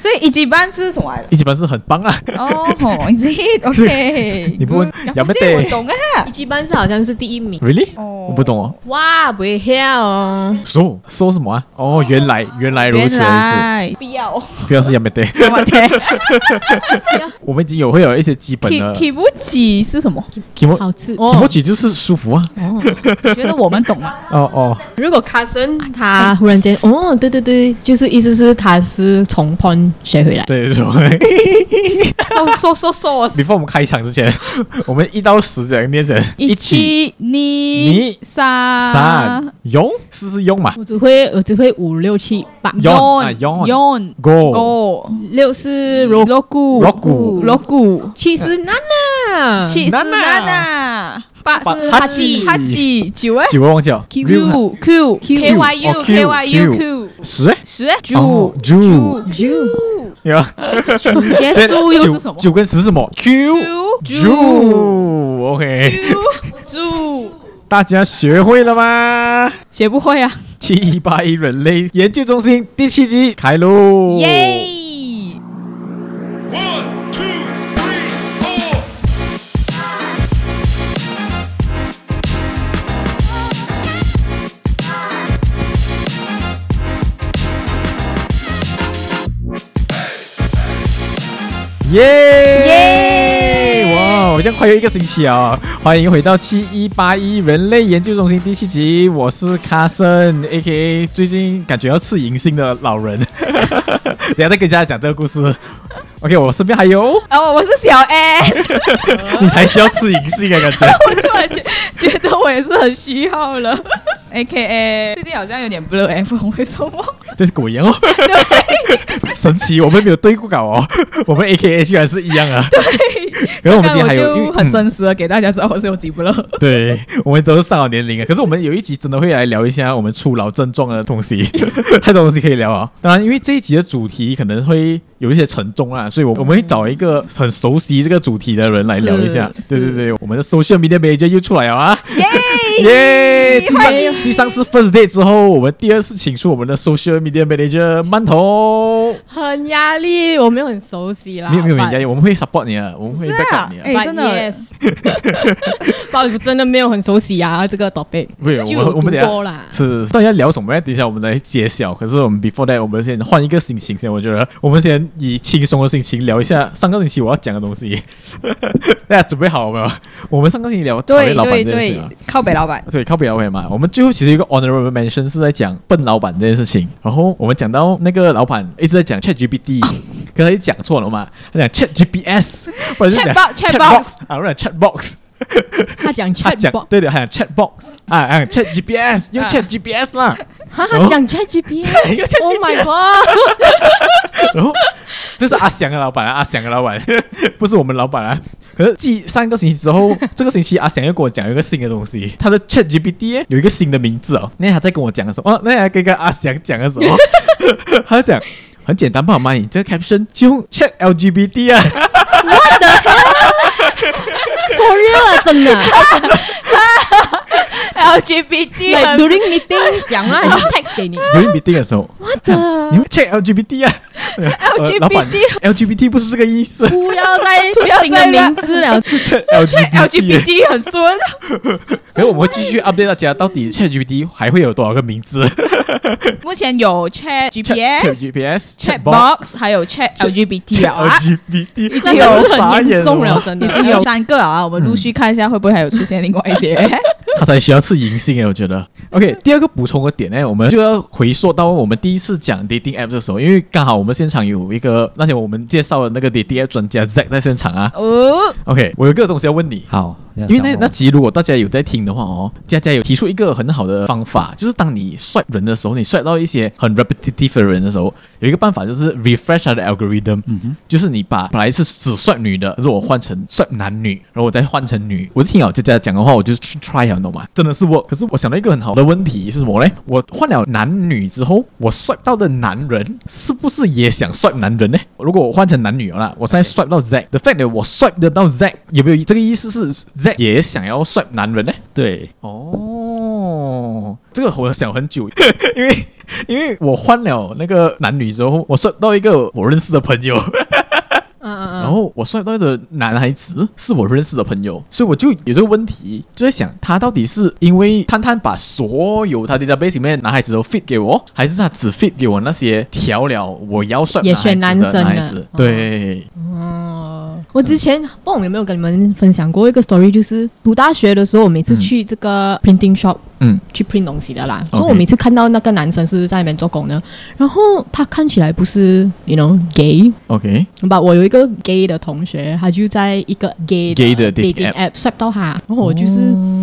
所以一級班是什麼來的？ 一級班是很棒啊。 哦，OK。 你不問有沒得？ 我懂啊。 一級班是好像是第1名。 Really？我不懂哦。 哇，不会跳哦。 说什麼啊？哦，原來如此。 不要是有沒得？我們已經會有一些基本的。 Kimochi 是什麼？ 好吃。 Kimochi 就是舒服啊。 覺得我們懂啊。 如果 Carson 他忽然間對，就是意思是他是從 porn 學回來。 對。 說。 Before 我們開場之前，我們1到10這樣念成1、2、3，用是用嘛？ 我只會5、6、7、8。 用 go 6是 roku 7是 nana 8是哈基9 忘記了 Q KYU 10有結束又是什麼 ？9跟10是什麼 ？Q OK 大家學會了嗎？ 學不會啊。 7181人類研究中心第7集開錄。 耶！ 耶！哇，好像快有1個星期啊！歡迎回到7181人類研究中心第7集，我是 Carson，A.K.A 最近感覺要吃銀杏的老人。等一下再跟大家講這個故事。OK， 我身邊還有我是小 S。 你才需要吃銀杏的感覺。 我突然覺得我也是很需要了。A.K.A 最近好像有點 blur F， 為什麼？ 這是跟我一樣哦。對，神奇，我們沒有對過稿哦。我們 A.K.A 居然是一樣啊。 對， 可是我們今天還有就很真實的給大家知道我是有幾 blur。對， 我們都是上了年齡啊。可是我們有一集真的會來聊一下我們初老症狀的東西，太多東西可以聊啊。當然，因為這一集的主題可能會有一些沉重啊，所以我們會找一個很熟悉這個主題的人來聊一下。對，我們的 social media manager 又出來了啊！耶！繼上次 first day 之後，我們第2次請出我們的 social media manager 饅頭。 很壓力，我沒有很熟悉啦。 沒有壓力，我們會 support 你啊，我們會 back up 你啊。 真的 yes。不好意思，真的沒有很熟悉啊，這個 topic。 不是，我們等一下是到底要聊什麼？等一下我們來揭曉。可是我們 before that， 我們先換一個心情先。我覺得我們先以輕鬆的心情聊一下上個星期我要講的東西。大家準備好了沒有？我們上個星期聊討厭老闆這件事啊， 靠北老闆。 對，靠北老闆嘛。我們最後其實有一個 honorable mention 是在講笨老闆這件事情。然後我們講到那個老闆一直在講 ChatGPT， 可是他一講錯了嘛，他講 ChatGPS， 或者是講 Chatbox 啊，或者 Chatbox。 他講 Chatbox， 對，他講 Chatbox 啊，ChatGPS 用 ChatGPS 啦。 他講 ChatGPS，Oh my god！ 然後這是阿翔的老闆啊，阿翔的老闆不是我们老闆啊。可是繼上個星期之後，這個星期阿翔又跟我講一個新的東西，他的 ChatGPT 有一個新的名字哦。那他在跟我講的時候，那還跟阿翔講的時候，他就講很簡單吧嘛，你這個 caption 就用 ChatLGBT 啊。 What the hell？For real 啊，真的。LGBT during meeting 講啦，還是 text 給你 ？During meeting 的時候 ，What the？ 你們 check LGBT 啊老闆 ，LGBT 不是這個意思。 不要再新的名字了 ，LGBT 很順。 然後我們會繼續 update 大家，到底 ChatGPT 還會有多少個名字？ 目前有 ChatGPS、Chatbox， 還有 ChatLGBT 啊。 LGBT 已經有很嚴重了，真的。 已經有3個啊，我們陸續看一下會不會還有出現另外一些。 他才需要吃銀杏誒，我覺得。OK， 第2個補充的點呢，我們就要回溯到我們第1次講 dating app 的時候，因為剛好我們現場有一個那天我們介紹的那個 dating app 專家 Zack 在現場啊。OK， 我有個東西要問你。 好， 因為那集如果大家有在聽的話哦，佳佳有提出一個很好的方法，就是當你 swipe 人的時候，你 swipe 到一些很 repetitive 的人的時候，有一個辦法就是 refresh 它的 algorithm，就是你把本來是只 swipe 女的，可是我換成 swipe 男女，然後我再換成女。我就聽好佳佳講的話，我就去 try 了，懂嗎？真的是 work。可是我想到一個很好的問題是什麼呢？我換了男女之後，我 swipe 到的男人是不是也想 swipe 男人呢？如果我換成男女了，我現在 swipe 到 Zack，the fact that 我 swipe 得到 Zack， 有沒有這個意思是 Zack 也想要 swipe 男人呢？ 對， 哦，這個我想很久，因為我換了那個男女之後，我刷到一個我認識的朋友。然後我刷到的男孩子是我認識的朋友，所以我就有這個問題，就在想他到底是因為探探把所有他 database 裡面的男孩子都 fit 給我，還是他只 fit 給我那些調了我要刷也選男生的？ 對。 我之前不知道有沒有跟你們分享過一個 story， 就是讀大學的時候，我每次去這個 printing shop，去 print 東西的啦。所以我每次看到那個男生是在那邊做工的，然後他看起來不是 you know gay。OK。我有一個 gay 的同學，他就在一個 gay 的 dating app swipe 到他，然後我就是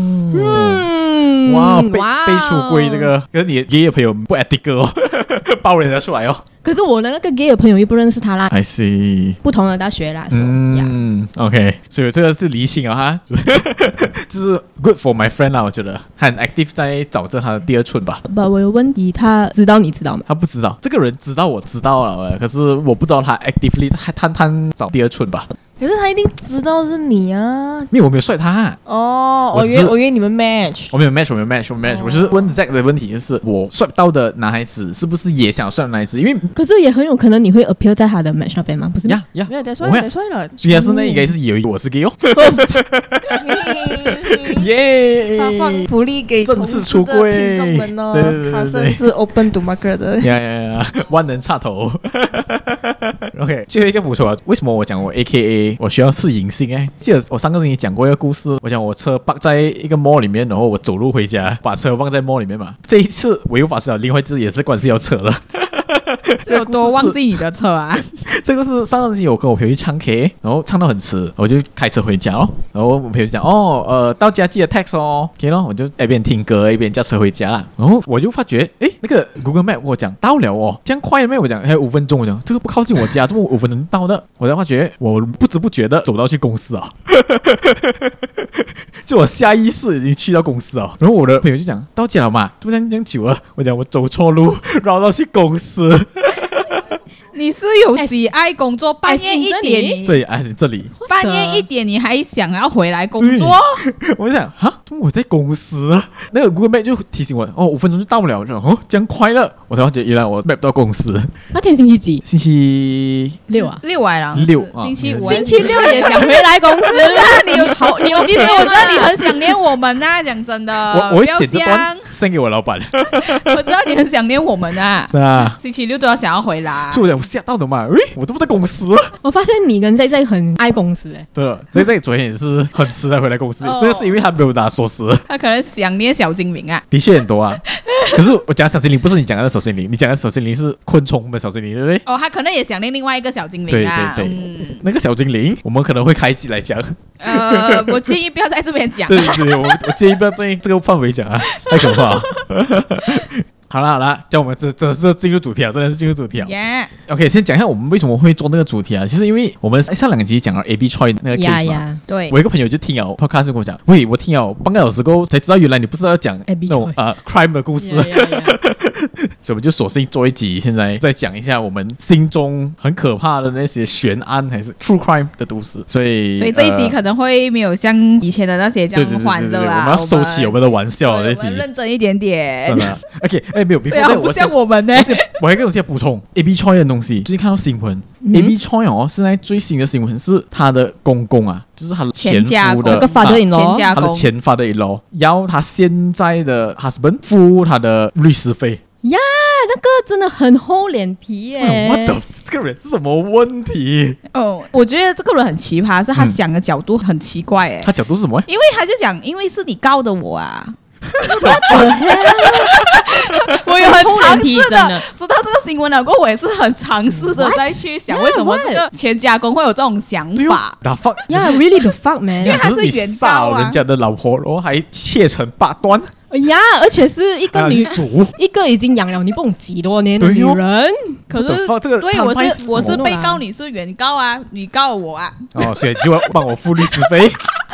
哇，被出櫃這個，可是你 gay 的朋友不 ethical 哦，爆人家出來哦。 可是我的那個 gay 的朋友又不認識他啦。 I see。 不同的大學啦。 OK， 所以這個是釐清了哈，就是 good for my friend 啦，我覺得很 active 在找着他的第二春吧。 我有問題，他知道你知道嗎？ 他不知道，這個人知道我知道了，可是我不知道他 actively 探找第二春吧。 可是他一定知道是你啊！ 因为我没有帅他我以为你們 match， 我没有 match， 我就是問 Zack 的問題，就是我帥到的男孩子是不是也想帥的男孩子？因為可是也很有可能你會 appear 在他的 match 那邊嗎？不是？ 沒有太帥了。 所以他是那應該是有一個我是 gay 哦。耶！ 發放福利給正式出櫃聽眾們哦。 對， 他甚至 open to market 的。 萬能插頭。OK， 最後一個補充啊，為什麼我講我 AKA 我需要試隱性哎？記得我上個星期講過一個故事，我講我車park在一個 mall 裡面，然後我走路回家，把車放在 mall 裡面嘛。這一次我又發生了另外一次也是關係要車了。 有多忘記你的車啊？ 這個是上個星期我跟我朋友去唱 K， 然後唱到很遲，我就開車回家哦。然後我朋友講到家記得 text 哦 ，OK 咯，我就一邊聽歌一邊駕車回家啦。然後我就發覺，那個 Google Map 我講到了哦，這樣快了沒有？我講還有5分鐘，我講這個不靠近我家，這麼5分鐘到的。我才發覺我不知不覺的走到去公司啊，就我下意識已經去到公司啊。然後我的朋友就講到家了嘛，怎麼這樣久了？我講我走錯路，繞到去公司。 你是有幾愛工作？半夜1點， 對，這裡半夜1點你還想要回來工作？ 我就想我在公司啊，那個 Google Map 就提醒我5分鐘就到不了，我就這樣快了，我才發覺原來我 map 到公司。 那天星期幾？ 星期 6啊 ，6來了 ，6 星期5， 星期6也想回來公司那你有其實我知道你很想念我們啊，講真的， 我會剪這段送給我老闆。 我知道你很想念我們啊， 是啊， 星期6都要想要回來。 是我嚇到的嘛？我都不在公司。 我發現你跟 Zack 很愛公司哎。 對了，Zack 昨天也是很遲才回來公司，那個是因為他沒有拿鎖匙。 他可能想念小精靈啊。 的確很多啊，可是我講小精靈不是你講的小精靈，你講的小精靈是昆蟲的小精靈，對不對？ 他可能也想念另外一個小精靈啊。 對，那個小精靈我們可能會開集來講。 我建議不要在這邊講。 對，我建議不要在這個範圍講啊，太可怕了。好了，叫我們這是進入主題啊，真的是進入主題啊。OK， 先講一下我們為什麼會做那個主題啊。其實因為我們上2集講了 AB Choi 那個 case 嘛， 對。 我一個朋友就聽了 podcast 跟我講，喂，我聽了半個小時過後才知道，原來你不是要講那種crime 的故事。所以我們就索性做一集，現在再講一下我們心中很可怕的那些懸案還是 true crime 的都市。所以這一集可能會沒有像以前的那些這樣歡樂啊。 我們要收起我們的玩笑這集， 我們認真一點點。 真的 OK， 沒有， 不像我們呢。 我還有一個東西要補充 AB Choi 的東西，最近看到新聞，AB Choi 現在最新的新聞是他的公公啊，就是他的前夫的他的前father-in-law要他現在的 husband 付他的律師費呀，那個真的很厚臉皮耶。 What the？ 這個人是什麼問題？ 我覺得這個人很奇葩，是他想的角度很奇怪哎。 他角度是什麼？ 因為他就講，因為是你告的我啊。我有很嘗試的知道這個新聞了過後，我也是很嘗試的再去想為什麼這個前家公會有這種想法。 Really the fuck man？ 因為他是原告啊， 人家的老婆，然後還切成8段。 呀，而且是一個一個已經養了你不懂幾多年的女人。 可是對，我是被告，你是原告啊，你告我啊。 所以就要幫我付律師費。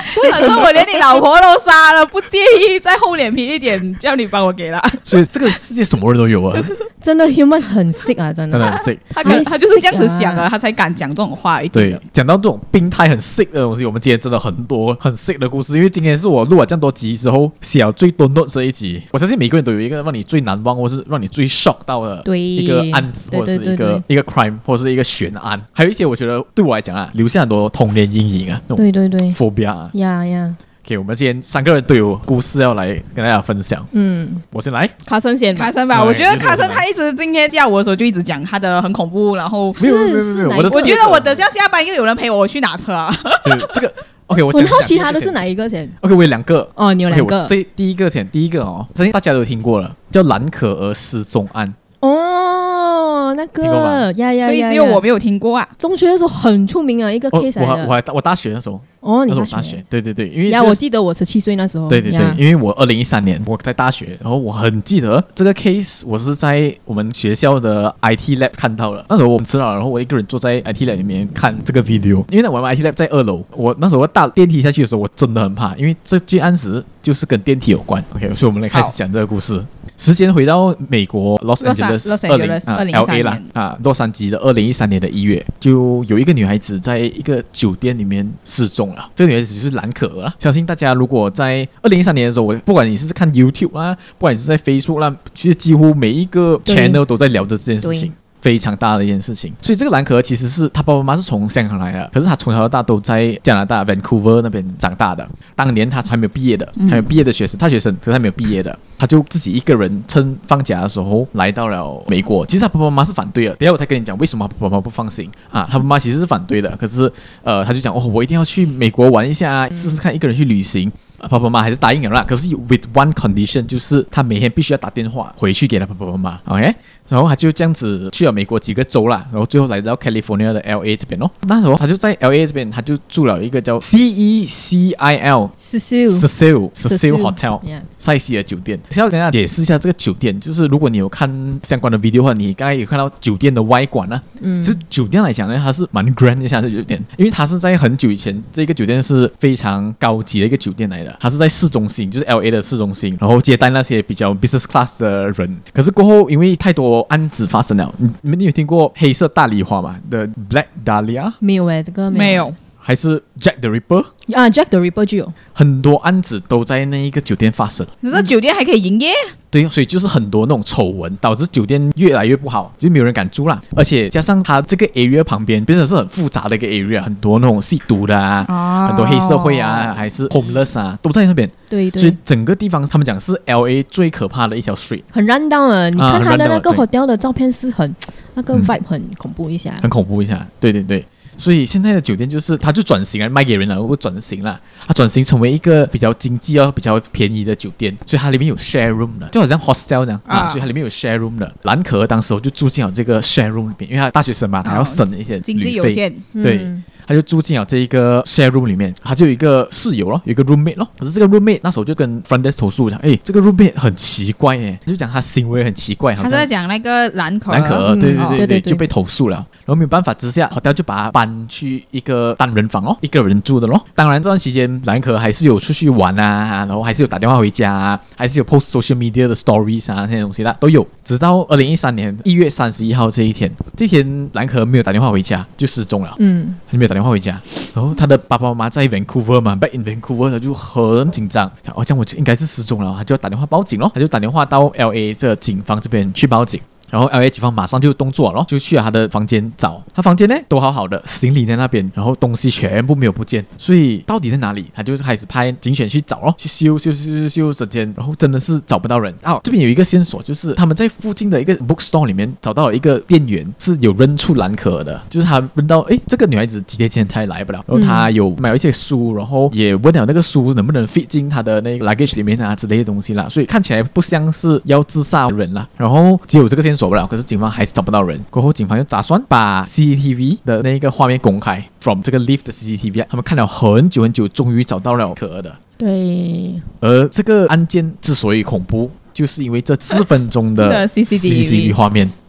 所以我連你老婆都殺了，不介意再厚臉皮一點，叫你幫我給了。 所以這個世界什麼人都有啊， 真的 human 很 sick 啊，真的很 sick。 他就是這樣子想啊，他才敢講這種話。 對，講到這種病態很 sick 的東西，我們今天真的很多很 sick 的故事，因為今天是我錄了這麼多集之後寫了最多 notes 這一集。我相信每個人都有一個讓你最難忘，或是讓你最 shock 到的一個案子，或者是一個 crime， 或者是一個懸案。還有一些我覺得對我來講啊，留下很多童年陰影啊。 對對對 ，phobia 啊。 呀。 OK， 我們今天3個人都有故事要來跟大家分享。我先來， 卡森先， 卡森吧。我覺得卡森他一直今天叫我的时候就一直講他的很恐怖，然後沒有， 我覺得我等下拜應該有人陪我去拿車啊。 對，這個 OK， 我很好奇他的是哪一個先 ？OK， 我有2個。 哦，你有2個。 第一個相信大家都聽過了，叫藍可兒失蹤案。 哦，那個所以只有我沒有聽過啊。 中學的時候很出名啊，一個 case 來的。 我大學的時候。 你大學，對，因為我記得我17歲那時候。 對，因為我2013年我在大學，然後我很記得這個 case， 我是在我們學校的 IT lab 看到了。那時候我們吃了，然後我一個人坐在 IT lab 裡面看這個 video， 因為我們 IT lab 在2樓，我那時候搭電梯下去的時候，我真的很怕，因為這件案子就是跟電梯有關。OK， 所以我們來開始講這個故事。時間回到美國 Los Angeles 2013年洛杉磯的2013年的1月，就有一個女孩子在一個酒店裡面失蹤了。這個女孩子就是藍可兒啦。相信大家如果在2013年的時候，不管你是看 YouTube 啦，不管你是在 Facebook 啦，其實幾乎每一個 channel 都在聊着這件事情。非常大的一件事情，所以這個藍可兒其實是他爸爸媽媽是從香港來的，可是他從小到大都在加拿大 Vancouver 那邊長大的。當年他還沒有畢業的，還沒有畢業的學生，大學生，可是他沒有畢業的，他就自己一個人趁放假的時候來到了美國。其實他爸爸媽媽是反對的，等一下我再跟你講為什麼他爸爸媽媽不放心啊。他爸媽其實是反對的，可是他就講我一定要去美國玩一下，試試看一個人去旅行。爸爸媽媽還是答應了啦，可是 with one condition， 就是他每天必須要打電話回去給他爸爸媽媽 ，OK， 然後他就這樣子去了美國幾個州啦，然後最後來到 California 的 LA 這邊哦。那時候他就在 LA 這邊，他就住了一個叫 Cecil Hotel 塞西爾酒店。先要跟大家解釋一下這個酒店，就是如果你有看相關的 video 的話，你剛才有看到酒店的外觀啊，其實酒店來講呢，它是蠻 grand 一下的酒店，因為它是在很久以前，這個酒店是非常高級的一個酒店來的。它是在市中心，就是 LA 的市中心，然後接待那些比較 business class 的人。可是過後，因為太多案子發生了，你们有聽過黑色大梨花嗎 ？The Black Dahlia？ 沒有這個沒有。 還是 Jack the Ripper？ Jack the Ripper 就有很多案子都在那一個酒店發生。 可是酒店還可以營業？ 對，所以就是很多那種醜聞，導致酒店越來越不好，就沒有人敢住啦。而且加上它這個 area 旁邊變成是很複雜的一個 area， 很多那種吸毒的很多黑社會啊，還是 homeless 啊，都在那邊。 對， 所以整個地方他們講是 LA 最可怕的一條 street， 很run down了。你看他的那個 hotel 的照片是很那個 vibe 很恐怖一下， 很恐怖一下。對。所以現在的酒店就是它就轉型了，賣給人了，會轉型了，它轉型成為一個比較經濟比較便宜的酒店，所以它裡面有 share room 的，就好像 hostel 這樣所以它裡面有 share room 的。藍可兒當時就住進了這個 share room 裡面，因為他大學生嘛，他要省一些旅費， 經濟有限， 對。他就住進了這一個 share room 裡面，他就有一個室友咯，有一個 roommate 咯。可是這個 roommate 那時候就跟 front desk 投訴講，這個 roommate 很奇怪他就講他行為很奇怪。 他是在講那個藍可兒，對，就被投訴了。然後沒有辦法之下 ，hotel 就把他搬去一個單人房一個人住的咯。當然這段期間，藍可兒還是有出去玩然後還是有打電話回家還是有 post social media 的 stories 那些東西的都有。直到2013年1月31號這一天藍可兒沒有打電話回家，就失蹤了。他就沒有打電話回家，然後他的爸爸媽媽在 Vancouver 嘛 ，back in Vancouver， 他就很緊張，這樣我就應該是失蹤了，他就打電話報警咯，他就打電話到 LA 這警方這邊去報警。然後 LA 警方馬上就動作了，就去了他的房間找，他房間呢都好好的，行李在那邊，然後東西全部沒有不見，所以到底在哪裡？他就開始派警犬去找咯，去修整間，然後真的是找不到人。這邊有一個線索，就是他們在附近的一個 bookstore 裡面找到了一個店員是有認出藍可兒的，就是他認到這個女孩子幾天前才來不了，然後他有買了一些書，然後也問了那個書能不能 fit 進他的那個 luggage 裡面之類的東西啦，所以看起來不像是要自殺的人啦。然後只有這個線索不了，可是警方還是找不到人。過後警方就打算把 CCTV 的那個畫面公開 ，from 這個 lift 的 CCTV， 他們看了很久，終於找到了可兒的。 對。 而這個案件之所以恐怖，就是因為這4分鐘的 CCTV 畫面。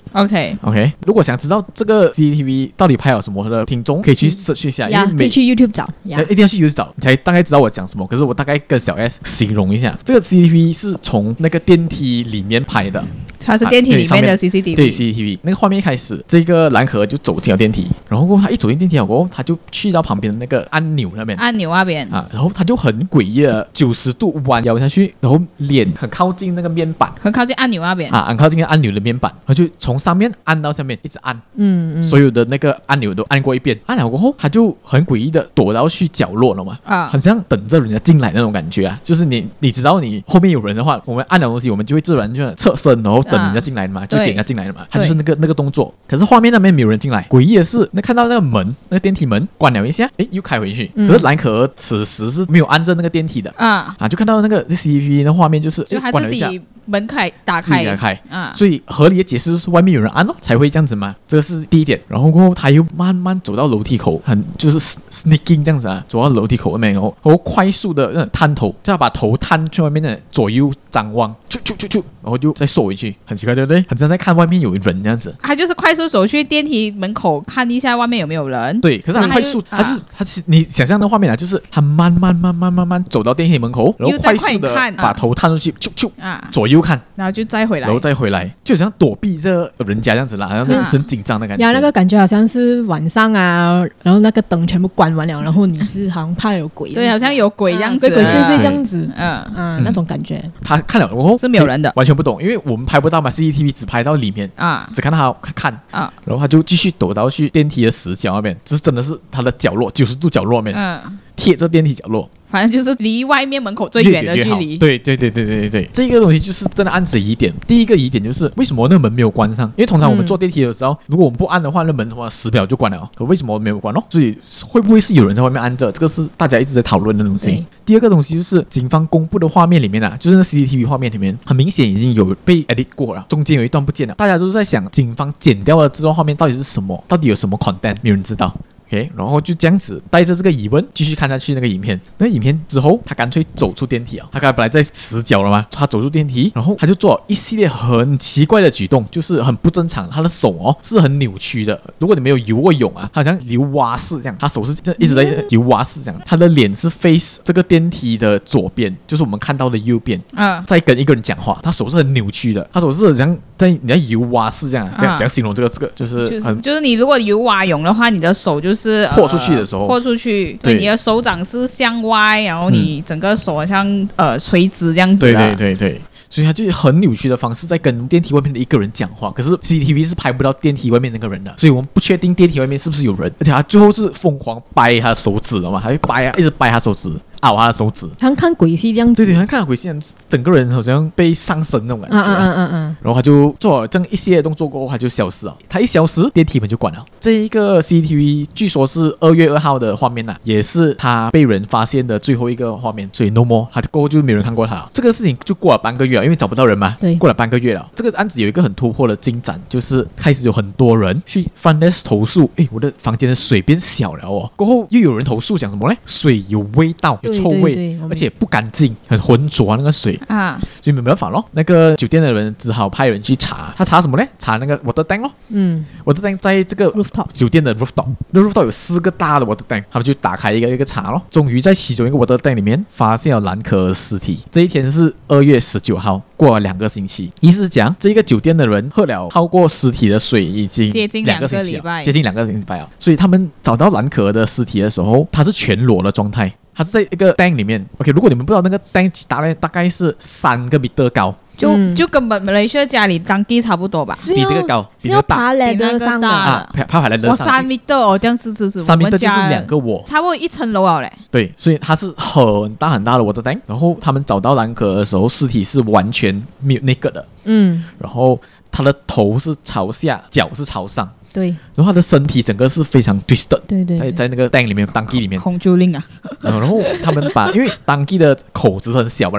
OK， 如果想知道这个 CCTV 到底拍了什麼的聽眾，可以去 search 一下，因為可以去 YouTube 找， 一定要去 YouTube 找，你才大概知道我講什麼。可是我大概跟小 S 形容一下，這個 CCTV 是從那個電梯裡面拍的。 它是電梯裡面的 CCTV， 對 CCTV 那個畫面一開始，這個藍可兒就走進了電梯，然後他一走進電梯過後，他就去到旁邊的那個按鈕那邊，然後他就很詭異的90度彎腰下去，然後臉很靠近那個面板， 很靠近按鈕那邊很靠近按鈕的面板，然後就從上面按到下面，一直按，所有的那個按鈕都按過一遍，按了過後，他就很詭異的躲到去角落了嘛，很像等着人家進來那種感覺啊，就是你知道你後面有人的話，我們按的東西，我們就會自然就側身，然後等人家進來的嘛，就給人家進來的嘛，他就是那個動作。可是畫面那邊沒有人進來，詭異的是，那看到那個門，那個電梯門關了一下，又開回去。可是藍可兒此時是沒有按着那個電梯的，就看到那個 CCTV 的畫面就是關了一下， 門打開， 所以合理的解釋就是外面有人按才會這樣子嘛，這個是第一點。然後過後他又慢慢走到樓梯口，就是 sneaking 這樣子啊，走到樓梯口那邊，然後快速的探頭，就要把頭探去外面的左右張望，然後就再縮回去，很奇怪對不對？很像在看外面有人這樣子。 他就是快速走去電梯門口看一下外面有沒有人。對， 可是他快速，他你想象的畫面啊，就是他慢慢走到電梯門口，然後快速的把頭探出去，左右看， 然後就再回來， 就像躲避這人家這樣子啦，然後那很緊張的感覺。 那個感覺好像是晚上啊，然後那個燈全部關完了，然後你是好像怕有鬼， 對，好像有鬼這樣子， 鬼祟祟這樣子，那種感覺。 他看了過後是沒有人的， 完全不懂，因為我們拍不到嘛 ，CCTV 只拍到裡面只看到他看然後他就繼續躲到去電梯的死角那邊，這是真的是他的角落，90度角落那邊，貼着電梯角落。 反正就是離外面門口最遠的距離。 對，這個東西就是真的暗指疑點。第一個疑點就是為什麼那個門沒有關上？因為通常我們坐電梯的時候，如果我們不按的話，那門的話10秒就關了。可為什麼沒有關哦？所以會不會是有人在外面按着？這個是大家一直在討論的東西。第二個東西就是警方公布的畫面裡面啊，就是那 CCTV 畫面裡面，很明顯已經有被 edit 過了，中間有一段不見了。大家都在想，警方剪掉的這段畫面到底是什麼？到底有什麼 content？沒有人知道。然後就這樣子帶着這個疑問繼續看下去那個影片。那個影片之後，他乾脆走出電梯啊！他剛才本來在死角了嘛，他走出電梯，然後他就做了一系列很奇怪的舉動，就是很不正常。他的手是很扭曲的。如果你沒有游過泳啊，他好像游蛙式這樣，他手是一直在游蛙式這樣。他的臉是 face 這個電梯的左邊，就是我們看到的右邊，在跟一個人講話。他手是很扭曲的，他手是像你在游蛙式這樣，這樣形容這個就是你如果游蛙泳的話，你的手就是豁出去的時候， 對，你的手掌是向外，然後你整個手好像垂直這樣子。 對，所以他就很扭曲的方式在跟電梯外面的一個人講話。可是 CCTV 是拍不到電梯外面那個人的，所以我們不確定電梯外面是不是有人。而且他最後是瘋狂掰他的手指了嘛，他會掰啊，一直掰他手指。他的手指，他看鬼戲這樣子， 對，他看鬼戲，整個人好像被上身那種感覺。然後他就做了這樣一系列動作過後，他就消失了。他一消失，電梯門就關了。這一個 CCTV 據說是2月2號的畫面也是他被人發現的最後一個畫面。所以 no more，他過後就沒有人看過他了。這個事情就過了半個月了，因為找不到人嘛。對，過了半個月了。這個案子有一個很突破的進展，就是開始有很多人去front desk投訴，我的房間的水變小了哦。過後又有人投訴講什麼呢？水有味道，有臭味。對，而且不乾淨，很渾濁那個水所以沒辦法咯。那個酒店的人只好派人去查，他查什麼呢？查那個 water tank 咯。water tank 在這個 rooftop 酒店的 rooftop，那 rooftop 有4個大的 water tank，他們就打開一個一個查咯。終於在其中一個 water tank 裡面發現了藍可兒屍體。這一天是2月19號，過了2個星期。意思是講，這個酒店的人喝了超過屍體的水已經接近2個禮拜，接近2個禮拜了。所以他們找到藍可兒的屍體的時候，他是全裸的狀態。它是在一個 tank 裡面 ，OK。如果你們不知道那個 tank 幾大呢，大概是3個米高， 就跟馬來西亞家裡當地差不多吧。 比那個高， 比那個大，爬來的上的爬來的上。 我3米哦，這樣是 3米就是2個窩， 差不多1層樓了嘞。 對，所以它是很大很大的 water tank。然後他們找到藍可兒的時候，屍體是完全沒有那個的。然後他的頭是朝下，腳是朝上。 對， 然後他的身體整個是非常 twisted， 對， 在那個 tank 裡面，當地裡面空就令啊。 然後他們把，因為當地的口子很小不了嘛，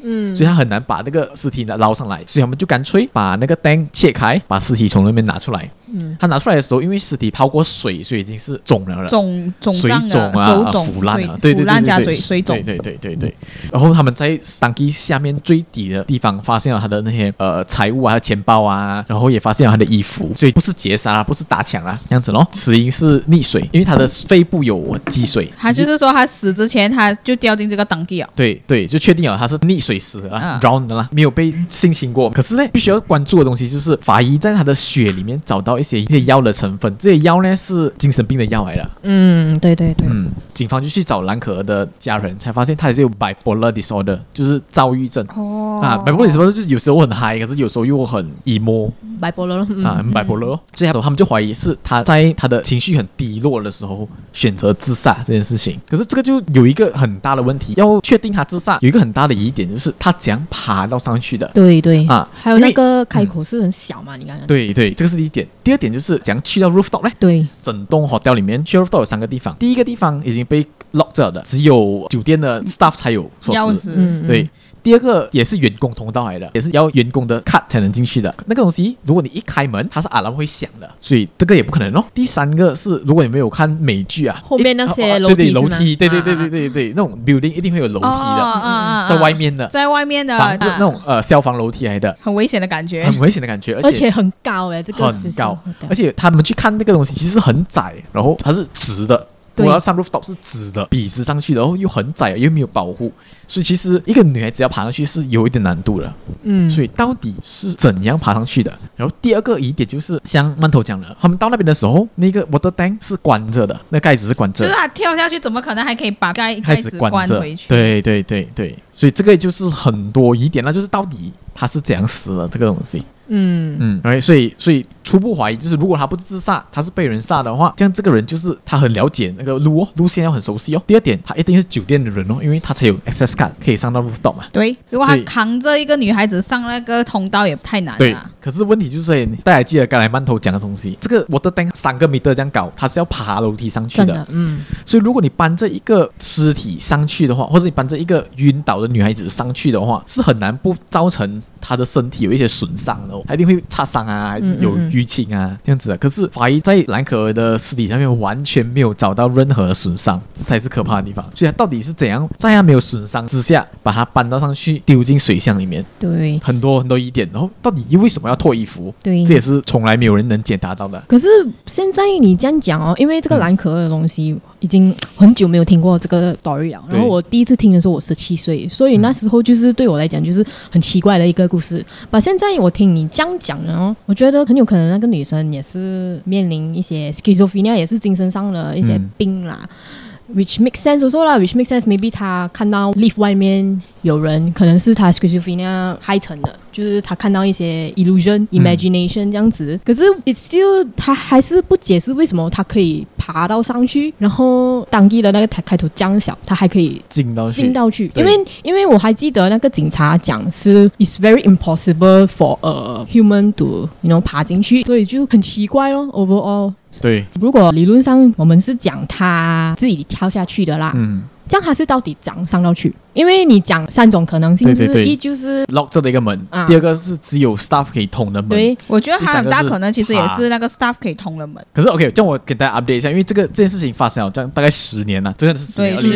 所以他很難把那個屍體撈上來，所以他們就乾脆把那個 tank 切開，把屍體從那邊拿出來。他拿出來的時候，因為屍體泡過水，所以已經是腫了，水腫啊，腐爛了，對， 腐爛加水腫， 對。然後他們在tanki下面最底的地方發現了他的那些財物啊，他的錢包啊，然後也發現了他的衣服，所以不是劫殺啦，不是打搶啦，這樣子咯。死因是溺水，因為他的肺部有積水。 他就是說他死之前他就掉進這個tanki了。 對，就確定了他是溺水死的啦，drown 的啦，沒有被性侵過。可是呢，必須要關注的東西就是法醫在他的血裡面找到一些藥的成分，這些藥呢是精神病的藥來的。 對。 警方就去找藍可兒的家人，才發現他也是有 bipolar disorder， 就是躁鬱症。bipolar disorder 就是有時候很嗨，可是有時候又很 emo。bipolar bipolar， 所以他們就懷疑是他在他的情緒很低落的時候選擇自殺這件事情。可是這個就有一個很大的問題，要確定他自殺有一個很大的疑點，就是他怎樣爬到上去的。 對還有那個開口是很小嘛，你看。 对，這個是第一點。第二點就是怎樣去到 rooftop 呢？對，整棟 hotel 裡面去 rooftop 有3個地方。第一個地方已經被 lock 着的，只有酒店的 staff 才有鎖匙。對。第二個也是員工通道來的，也是要員工的 card 才能進去的。那個東西，如果你一開門，它是 alarm 會響的，所以這個也不可能哦。第三個是，如果你沒有看美劇啊， 後面那些樓梯， 樓梯，對，那種 building 一定會有樓梯的，在外面的，那種消防樓梯來的， 很危險的感覺， 而且很高這個很高，而且他們去看那個東西其實很窄，然後它是直的。我要上 rooftop 是直的，筆直上去，然後又很窄，又沒有保護，所以其實一個女孩子要爬上去是有一點難度的。所以到底是怎樣爬上去的？然後第二個疑點就是像饅頭講的，他們到那邊的時候，那個 water tank 是關着的，那蓋子是關着的， 就是他跳下去怎麼可能還可以把蓋子關回去？ 對，所以這個就是很多疑點，那就是到底他是怎樣死的這個東西。所以初步懷疑就是，如果他不是自殺，他是被人殺的話，這樣這個人就是他很了解那個路線要很熟悉哦。第二點，他一定是酒店的人哦，因為他才有 access card 可以上到 rooftop 嘛。 对，如果他扛着一個女孩子上那個通道也太難了。 對，可是問題就是大家還記得剛才饅頭講的東西，這個 water tank 3個米這樣高，它是要爬樓梯上去的。所以如果你搬着一個屍體上去的話，或者你搬着一個暈倒的女孩子上去的話，是很難不造成他的身體有一些損傷的哦，他一定會擦傷啊，還是有淤青啊這樣子的。可是法醫在藍可兒的屍體上面完全沒有找到任何的損傷，這才是可怕的地方。所以他到底是怎樣在他沒有損傷之下把他搬到上去丟進水箱裡面？對，很多疑點。然後到底為什麼要脫衣服？對，這也是從來沒有人能解答到的。 可是現在你這樣講哦，因為這個藍可兒的東西已經很久沒有聽過這個 story 了。然後我第一次聽的時候我17歲，所以那時候就是對我來講就是很奇怪的一個故事。把現在我聽你這樣講的哦，我覺得很有可能那個女生也是面臨一些 schizophrenia， 也是精神上的一些病啦。Which makes sense also 啦 ，which makes sense maybe 他看到 lift 外面有人，可能是他 schizophrenia 害成的，就是他看到一些 illusion、imagination 這樣子。可是 it's still 他還是不解釋為什麼他可以爬到上去，然後當地的那個開頭這樣小，他還可以進到去。因為我還記得那個警察講是 it's very impossible for a human to爬進去，所以就很奇怪咯 overall。 对， 如果理論上我們是講他自己跳下去的啦，這樣他是到底怎樣上到去？因為你講3種可能性，一就是 lock 着的一個門，第二個是只有 staff 可以通的門。 對，我覺得還很大可能其實也是那個 staff 可以通的門。 可是 OK， 這樣我給大家 update 一下，因為這件事情發生了這樣大概10年了，真的是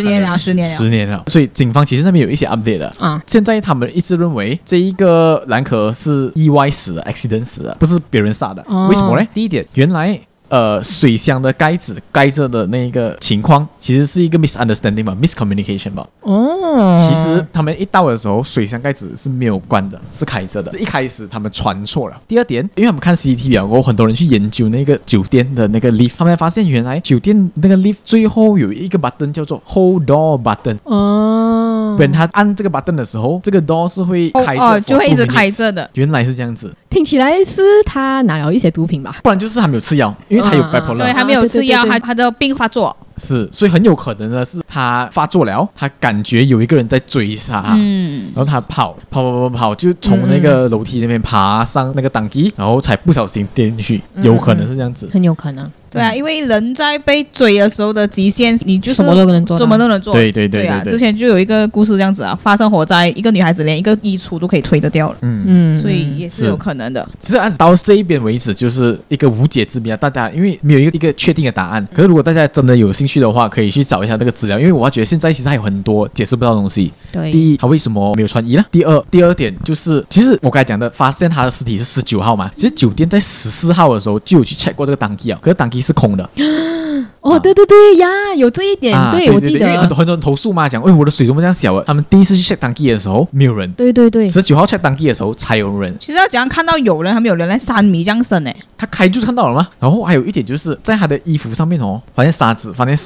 10年了，所以警方其實那邊有一些 update 的啊。現在他們一直認為這一個藍可兒是意外死的 ，accident 死的，不是別人殺的。為什麼呢？第一點，原來水箱的蓋子蓋着的那個情況，其實是一個 misunderstanding 吧 ，miscommunication 吧。其實他們一到的時候，水箱蓋子是沒有關的，是開着的。一開始他們傳錯了。第二點，因為他們看 CCTV 啊，很多人去研究那個酒店的那個 lift， 他們才發現原來酒店那個 lift 最後有一個 button 叫做 hold door button。when 他按這個 button 的時候，這個 door 是會開着， 就會一直開着的。 原來是這樣子， 聽起來是他拿了一些毒品吧？ 不然就是他沒有吃藥，因為他有 bipolar， 對，他沒有吃藥，他的病發作。 是，所以很有可能的是他發作了，他感覺有一個人在追殺，然後他跑，就從那個樓梯那邊爬上那個檔梯，然後才不小心跌進去，有可能是這樣子， 很有可能。 對啊，因為人在被追的时候的极限，你就是什么都能做， 什么都能做。 对啊， 之前就有一個故事這樣子啊，發生火災，一個女孩子連一個衣櫥都可以推得掉了。所以也是有可能的。 其實案子到這一邊為止，就是一個無解之謎啊。大家因為沒有一個確定的答案，可是如果大家真的有興趣的話，可以去找一下那個資料，因為我覺得現在其實還有很多解釋不到的東西。 對， 第一，他為什麼沒有穿衣呢？第二點就是，其實我剛才講的，發現他的屍體是19號嘛，其實酒店在14號的時候就有去 check 過這個檔機啊，可是檔機是空的。 哦，對呀，有這一點，對，我記得， 因為很多人投訴嘛，講，我的水怎麼這樣小啊？他們第一次去 check 檔機的時候沒有人， 對 ，19號 check 檔機的時候才有人。 其實要怎樣看到有人，還沒有人來3米這樣深呢？ 他開就看到了嗎？然後還有一點就是在他的衣服上面哦，發現沙子，發現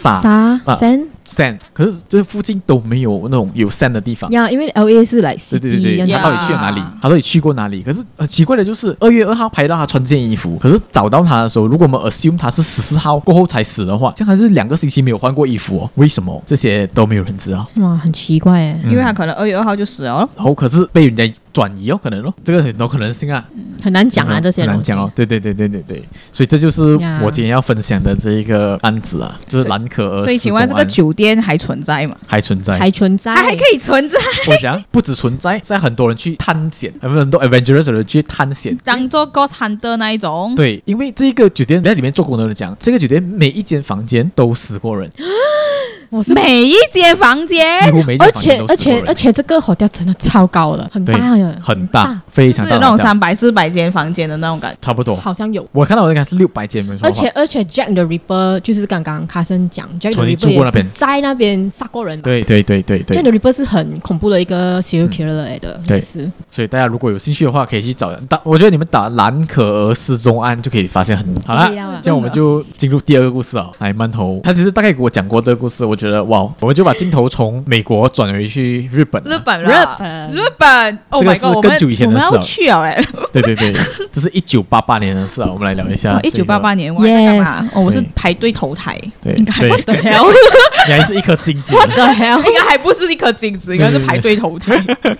sand，可是這附近都沒有那種有 sand 的地方。 因為 LA 是來對，他到底去了哪裡？他到底去過哪裡？可是奇怪的就是2月2號拍到他穿這件衣服，可是找到他的時候，如果我們 assume 他是14號過後才死的話，這樣還是2個星期沒有換過衣服哦？為什麼？這些都沒有人知道。 哇，很奇怪耶， 因為他可能2月2號就死了， 然後可是被人家轉移哦，可能哦，這個很多可能性啊， 很難講啊，這些很難講哦。對，所以這就是我今天要分享的這一個案子啊，就是藍可兒。 所以請問這個酒店還存在嗎？ 還存在， 它還可以存在。 我講不止存在，現在很多人去探險，很多 adventurous 的人去探險， 當做 ghost hunter 那一種。 對，因為這個酒店在裡面做工的人講，這個酒店每一間房間都死過人。 每一間房間， 而且這個 hotel 真的超高的，很大的， 很大，非常大， 是那種300-400間房間的那種感覺， 差不多， 好像有。 我看到的應該是600間，沒錯。 而且 Jack the Ripper 就是剛剛卡森講 ，Jack the Ripper 也是在那邊殺過人。 對。 Jack the Ripper 是很恐怖的一個 serial killer 來的， 對。所以大家如果有興趣的話，可以去找。我覺得你們打藍可兒失蹤案就可以發現很好了。這樣我們就進入第二個故事啊，來饅頭，他其實大概給我講過這個故事，我覺得哇，我們就把鏡頭從美國轉回去日本。 日本 ，Oh my god， 這個是更久以前的事我們要去啊！ 對，這是1988年的事啊，我們來聊一下。 1988年我在幹嘛？我是排隊投胎，應該what the hell？ 你還是一顆金子？ What the hell？應該還不是一顆金子，應該是排隊投胎。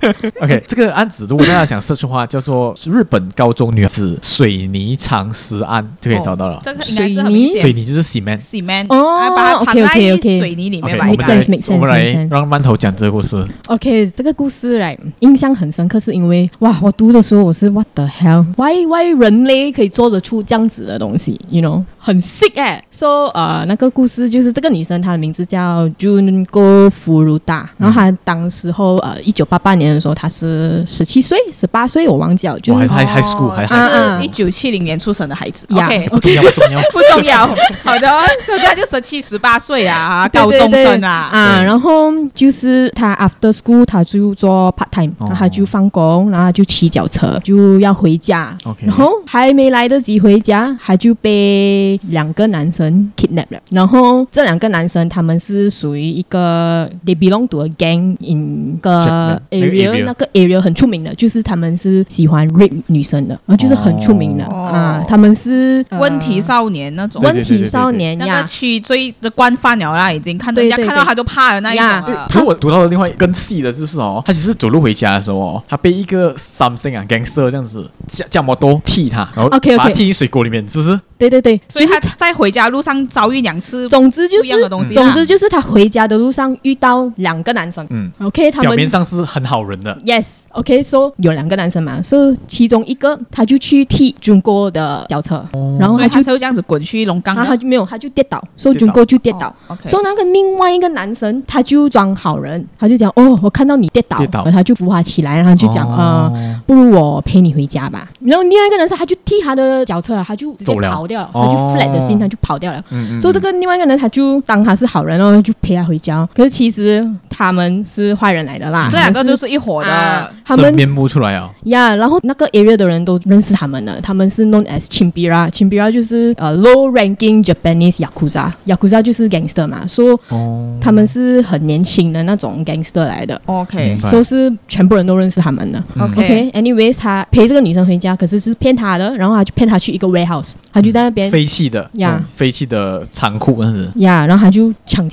OK， 這個案子如果大家想 search 的話，叫做日本高中女子水泥藏屍案，就可以找到了。 水泥就是 cement 哦，把它藏在水泥裡面吧。 我們來讓饅頭講這個故事。 OK， 這個故事來印象很深刻，是因為哇，我讀的時候我是 What the hell？Why 人類可以做得出這樣子的東西 ？You know， 很 sick 哎。So 那個故事就是這個女生，她的名字叫 Junko Furuta， 然後她當時候1988年的時候，她是17歲、18歲，我忘記了，就是還 high school， 還是 1970年出生的孩子。 OK， 不重要。 好的，現在就17、18歲啊，高中生啊。 然後就是她 after school， 她就做 part time， 然後她就放工，然後她就騎腳車就要回家。然後還沒來得及回家，她就被2個男生 kidnap 了。然後這2個男生他們是屬於一個 they belong to a gang in 個 area， 那個 area 很出名的，就是他們是喜歡 rape 女生的，然後就是很出名的他們是問題少年那種， 問題少年那個區罪的慣犯了啦，已經看到人家看到他都怕的那一種了。 可是我讀到的另外更細的就是他其實走路回家的時候他被一個 something gangster 這樣子駕摩托踢他，然後把他踢進水溝裡面，是不是？ 對， 所以他在回家路上遭遇2次， 總之就是不一樣的東西。 總之就是他回家的路上遇到2個男生，OK， 他们表面上是很好人的 ，Yes，OK，so 有2個男生嘛，so 其中一個他就去踢 Junko 的腳車，然後他就這樣子滾去龍崗， 然後他就跌倒，so Junko 就跌倒，so 那個另外一個男生他就裝好人，他就講我看到你跌倒，然後他就扶他起來，然後就講不如我陪你回家吧。然後另外一個男生他就踢他的腳車，他就直接跑掉，他就 flat 的心，他就跑掉了。所以這個另外一個人他就當他是好人，然後就陪他回家。可是其實他們是壞人來的啦， 這2個就是一夥的， 他們真面目出來啊。 然後那個 area 的人都認識他們的，他們是 known as Chimbira 就是 low ranking Japanese Yakuza 就是 gangster 嘛，所以他們是很年輕的那種 gangster 來的。 OK， 所以是全部人都認識他們的。OK，anyways， 他陪這個女生回家，可是是騙她的，然後他就騙她去一個 warehouse，他就在那邊廢棄的倉庫， 然後他就強姦她，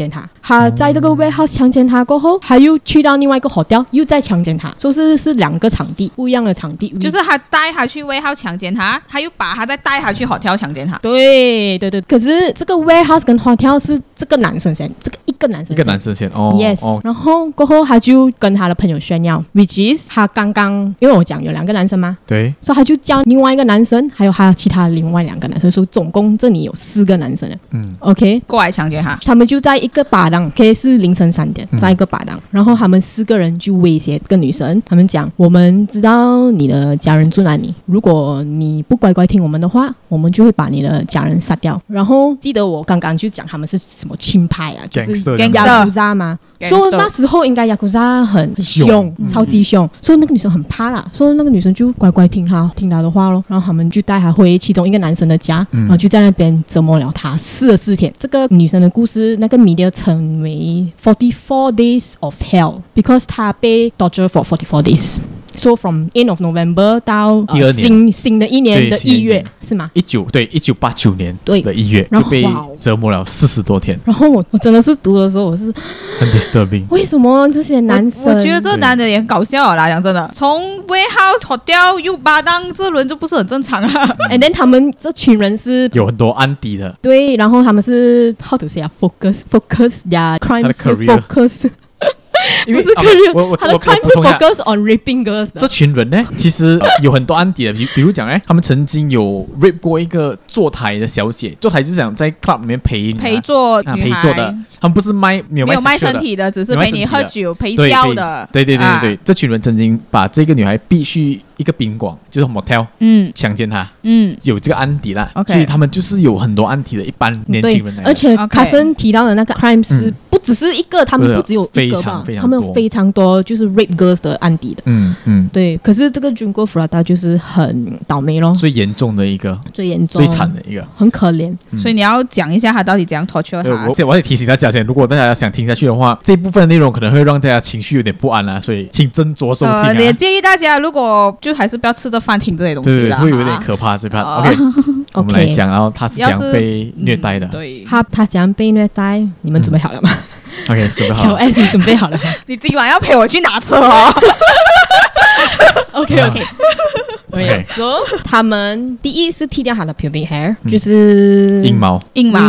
他在這個 warehouse 強姦他過後，他又去到另外一個 hotel 又再強姦他，說是兩個場地不一樣的場地， 就是他帶他去 warehouse 強姦他，他又把他再帶他去 hotel 強姦他。 對，可是這個 warehouse 跟 hotel 是這個男生先，這個一個男生先哦 yes 然後過後他就跟他的朋友炫耀 which is 他剛剛因為我講有2個男生嘛， 對， 所以他就叫另外一個男生還有他其他另外2個男生，所以總共這裡有4個男生了OK 過來強姦他們就在一個巴檔 OK 是凌晨3點在一個巴檔然後他們4個人就威脅這個女生，他們講我們知道你的家人住哪裡，如果你不乖乖聽我們的話，我們就會把你的家人殺掉。然後記得我剛剛就講他們是什麼親派啊，就是雅庫扎嘛，說那時候應該雅庫扎很凶超級凶，所以那個女生很怕啦，所以那個女生就乖乖聽他的話咯，然後他們就帶他回其中一個男生的家然後就在那邊折磨了他44天。這個女生的故事那個 media 稱為44 days of hell because 她被 torture for 44 days。So from end of November 到新的一年的1月是嗎 ？1989年的1月就被折磨了40多天。 然後我真的是讀的時候我是很 disturbing。 為什麼這些男生？ 我覺得這個男的也很搞笑啦，講真的，從 warehouse hotel 又巴當，這輪就不是很正常啊。 And then 他們這群人是有很多案底的， 對，然後他們是 how to say focus their crime 是 focus。不是 career， 他的 crime 是 focus on raping girls 的。 這群人呢，其實有很多案底的，比如講他們曾經有 rape 過一個坐台的小姐，坐台就是想在 club 裡面陪坐女孩的，他們不是沒有賣身體的，只是陪你喝酒陪笑的。 對，這群人曾經把這個女孩逼去一個賓館，就是 motel， 強姦她，有這個案底啦，所以他們就是有很多案底的一般年輕人來的。 而且卡森提到的那個 crime 是不只是一個，他們不只有一個吧，他們有非常多就是 rape girls 的案底的。對。可是這個 Junko Furuta 就是很倒霉咯， 最嚴重的一個， 最嚴重、 最慘的一個， 很可憐。 所以你要講一下他到底怎樣 torture 他。 我得提醒大家先，如果大家想聽下去的話，這部分的內容可能會讓大家情緒有點不安啦，所以請斟酌收聽。 也建議大家如果就還是不要吃着飯聽這些東西啦， 對，會有點可怕這part。OK， 我們來講，然後他是怎樣被虐待的。 對， 他怎樣被虐待？你們準備好了嗎 ？OK， 準備好了。 小 S， 你準備好了嗎？ 你今晚要陪我去拿車哦。 OK， so 他們第一是剃掉他的 pubic hair，就是陰毛。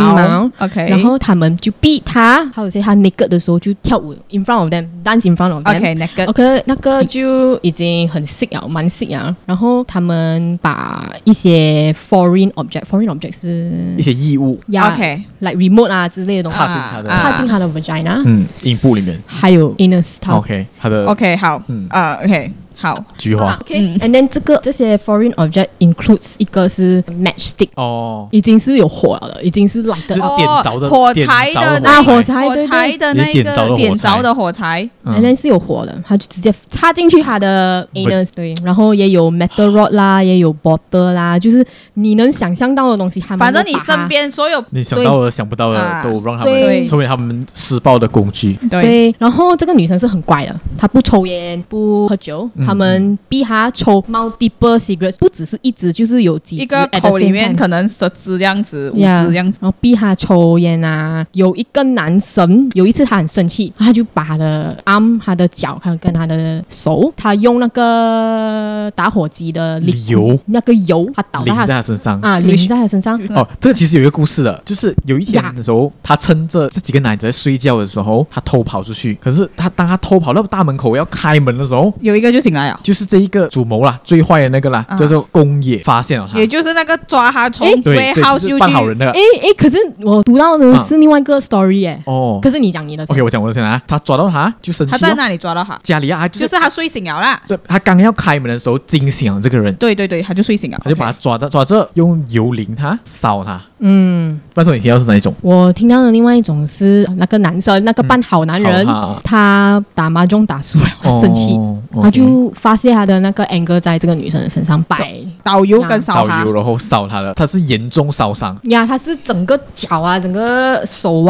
OK， 然後他們就逼他，還有些他 naked 的時候就跳舞 in front of them，dance in front of them。OK， 那個就已經很 sick 了，蠻 sick 了。然後他們把一些 foreign object 是一些異物 ，like remote 啊之類的東西，插進他的 vagina， 陰部裡面， 還有 anus。 OK， 他的 OK 好，OK。好， 菊花。 And then 這些 foreign object includes 一個是 matchstick， 已經是有火了，已經是 like 就是點着的火柴的火柴的那個點着的火柴 ，and then 是有火的，他就直接插進去他的 anus， 對，然後也有 metal rod 啦，也有 bottle 啦，就是你能想象到的東西， 反正你身邊所有你想到的、想不到的都讓他們成為他們施暴的工具。 對，然後這個女生是很乖的，她不抽煙，不喝酒。他們逼他抽 multiple cigarettes， 不只是一支，就是有幾支， 一個口裡面可能10支這樣子，5支這樣子， 然後逼他抽煙啊。有一個男生有一次他很生氣，他就把他的 arm、他的腳跟他的手，他用那個打火機的油，那個油他倒在他身上啊，淋在他身上。 哦，這個其實有一個故事的，就是有一天的時候，他趁着這幾個男子在睡覺的時候，他偷跑出去。可是當他偷跑到大門口要開門的時候， 有一個就醒來了， 就是這一個主謀啦，最壞的那個啦，叫做宮野發現了他， 也就是那個抓他從warehouse去扮好人的。 可是我讀到的是另外一個 story 耶。可是你講你的。 OK， 我講我的先啊。他抓到他就生氣。 他在哪裡抓到他？ 家裡啊， 就是他睡醒了啦。 對，他剛要開門的時候驚醒了這個人。 對，他就睡醒了， 他就把他抓着，用油淋他，燒他。不知道你聽到是哪一種？ 我聽到的另外一種是那個男生，那個扮好男人，他打麻將打輸了，他生氣，他就發洩他的那個 anger 在這個女生的身上， 倒油跟燒他， 倒油然後燒他的，他是嚴重燒傷呀，他是整個腳啊，整個手啊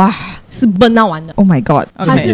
是burn到完的。 Oh my god！ 他是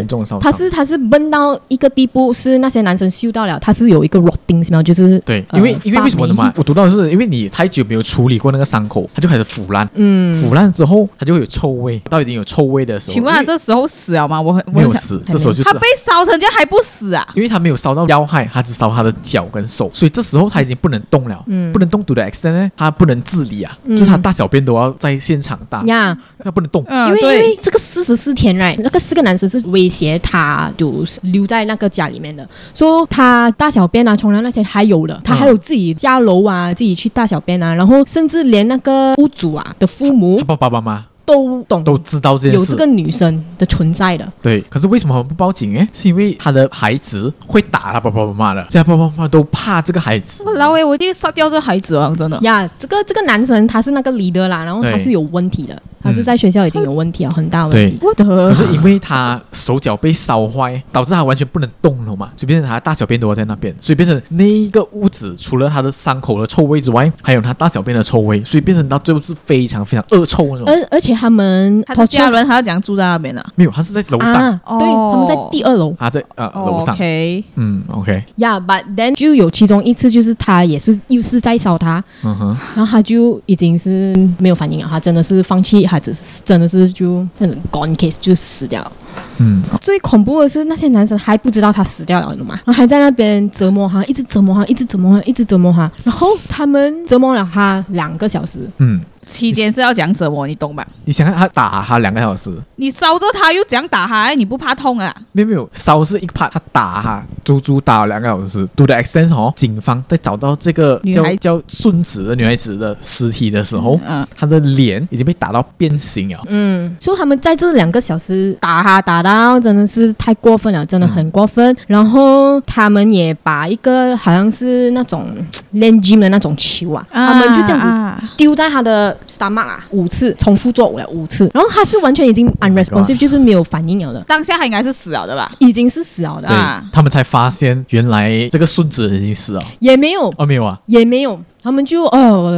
burn到一個地步，是那些男生嗅到了，他是有一個 rotting smell，就是對，因為為什麼的嘛？我讀到的是因為你太久沒有處理過那個傷口，它就開始腐爛。腐爛之後它就會有臭味，到已經有臭味的時候， 請問他這時候死了嗎？ 沒有死，這時候就是他被燒成這樣還不死啊？ 因為他沒有燒到要害，他只燒他的腳跟手，所以這時候他已經不能動了，不能動 to the extent 呢，他不能自理啊，就他大小便都要在現場大，他不能動， 因為這個44天 right， 那個4個男生是威脅他就留在那個家裡面的，說他大小便啊、沖涼那些還有的，他還有自己下樓啊，自己去大小便啊，然後甚至連那個屋主啊的父母， 他爸爸媽媽都懂， 都知道這件事， 有這個女生的存在的。 對，可是為什麼他們不報警？是因為他的孩子會打他爸爸媽媽的，所以他爸爸媽媽都怕這個孩子。 我一定殺掉這孩子啊！真的呀，這個男生他是那個 leader 啦，然後他是有問題的，他是在學校已經有問題了，很大問題。 可是因為他手腳被燒壞，導致他完全不能動了嘛，所以變成他大小便都要在那邊，所以變成那一個屋子除了他的傷口的臭味之外，還有他大小便的臭味，所以變成到最後是非常非常惡臭那種。 而且他的家人還要怎樣住在那邊呢？ 沒有，他是在樓上。 對，他們在第2樓。 他在樓上。 OK， OK。 Yeah，but then 就有其中一次就是他又是在燒他，然後他就已經是沒有反應了，他真的是放棄，他真的是就那種 gone case 就死掉了。最恐怖的是那些男生還不知道他死掉了，你懂嗎？然後還在那邊折磨他，一直折磨他，一直折磨他，一直折磨他，然後他們折磨了他2個小時。 期間是要這樣折磨，你懂吧？ 你想看他打他2個小時，你燒着他又這樣打他，你不怕痛啊？ 沒有，燒是一個 part，他打他足足打了2個小時。To the extent警方在找到這個叫順子的女孩子的屍體的時候，她的臉已經被打到變形了。 所以他們在這2個小時打他打到真的是太過分了，真的很過分。然後他們也把一個好像是那種練 gym 的那種球啊，他們就這樣子丟在他的stomach 5次，重複做了5次，然後他是完全已經 unresponsive，就是沒有反應了的。 當下他應該是死了的吧？ 已經是死了的。 他們才發現原來這個順子已經死了。 也沒有， 沒有啊， 也沒有。他們就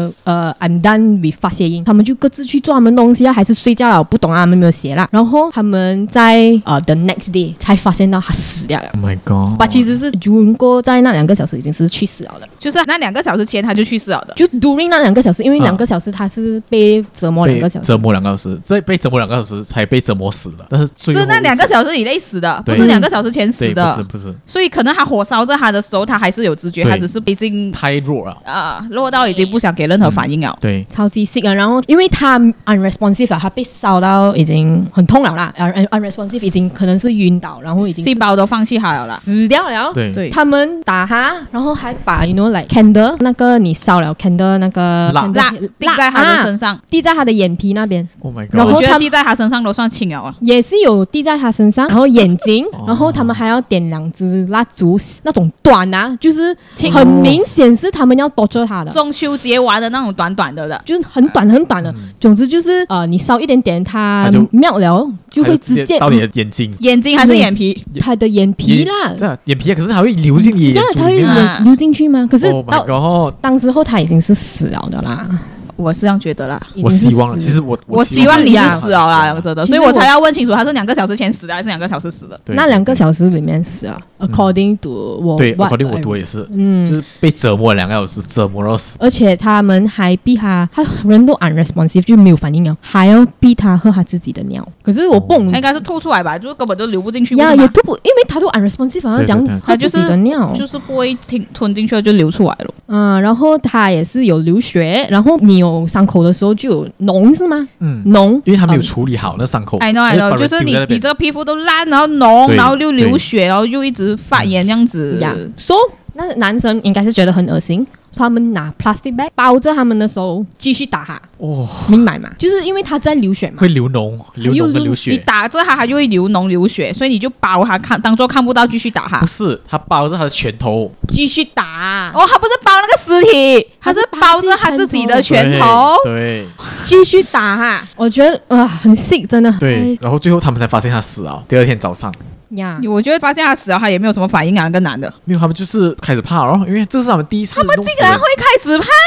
I'm done with 發洩音，他們就各自去做他們東西啊，還是睡覺了，我不懂啊，他們沒有寫啦。然後他們在the next day 才發現到他死掉了。 Oh my god！ 但其實是經過在那2個小時已經是去死了的， 就是那2個小時前他就去世了的。 就 during 那2個小時，因為2個小時他是被折磨2個小時， 折磨2個小時，再被折磨2個小時才被折磨死了。但是是那2個小時以內死的，不是2個小時前死的。 不是。 所以可能他火燒着他的時候，他還是有知覺，他只是已經太弱了弱到已經不想給任何反應了。 對， 超級 sick 啊！然後因為他 unresponsive 他被燒到已經很痛了啦，unresponsive 已經可能是暈倒，然後已經細胞都放棄他了啦， 死掉了。 對， 他們打他，然後還把 like candle 那個你燒了 candle 那個蠟滴在他的身上， 滴在他的眼皮那邊。 Oh my god！ 然後我覺得滴在他身上都算輕了啊。 也是有滴在他身上，然後眼睛，然後他們還要點2支蠟燭，那種短啊，就是很明顯是他們要torture他的。 中秋節玩的那種短短的， 就是很短很短的。總之就是你燒一點點，它melts了就會直接到你的眼睛還是眼皮？ 他的眼皮啦， 對啊，眼皮，可是它會流進你眼珠裡面， 它會流進去嗎？可是當時候他已經是死了的啦。 我是這樣覺得啦， 我希望，其實我希望你是死了啦，真的，所以我才要問清楚，他是2個小時前死的，還是2個小時死的？ 那2個小時裡面死了，according to 我， 對 ，according 我讀也是，就是被折磨2個小時，折磨到死。 而且他們還逼他人都 unresponsive 就沒有反應了，還要逼他喝他自己的尿。可是我不懂， 應該是吐出來吧，就根本就流不進去。 也吐不，因為他都 unresponsive， 好像講喝自己的尿， 就是不會吞進去就流出來了。 然後他也是有流血，然後你有傷口的時候就有膿是嗎？膿， 因為他沒有處理好那傷口。 I know， 就是你這個皮膚都爛，然後膿，然後又流血，然後又一直發炎這樣子。 So 那男生應該是覺得很噁心。他們拿 plastic bag 包着他們的手，繼續打他。明白嗎？就是因為他在流血嘛， 會流膿跟流血。 你打着他就會流膿流血，所以你就包他當作看不到，繼續打他。 不是，他包着他的拳頭， 繼續打。 他不是包那個屍體，他是包着他自己的拳頭。 對， 繼續打哈。我覺得很 sick， 真的。 對，然後最後他們才發現他死了。第2天早上。 我覺得發現他死了，他也沒有什麼反應啊，那個男的。 沒有，他們就是開始怕因為這是他們第一次。 他們竟然會開始怕？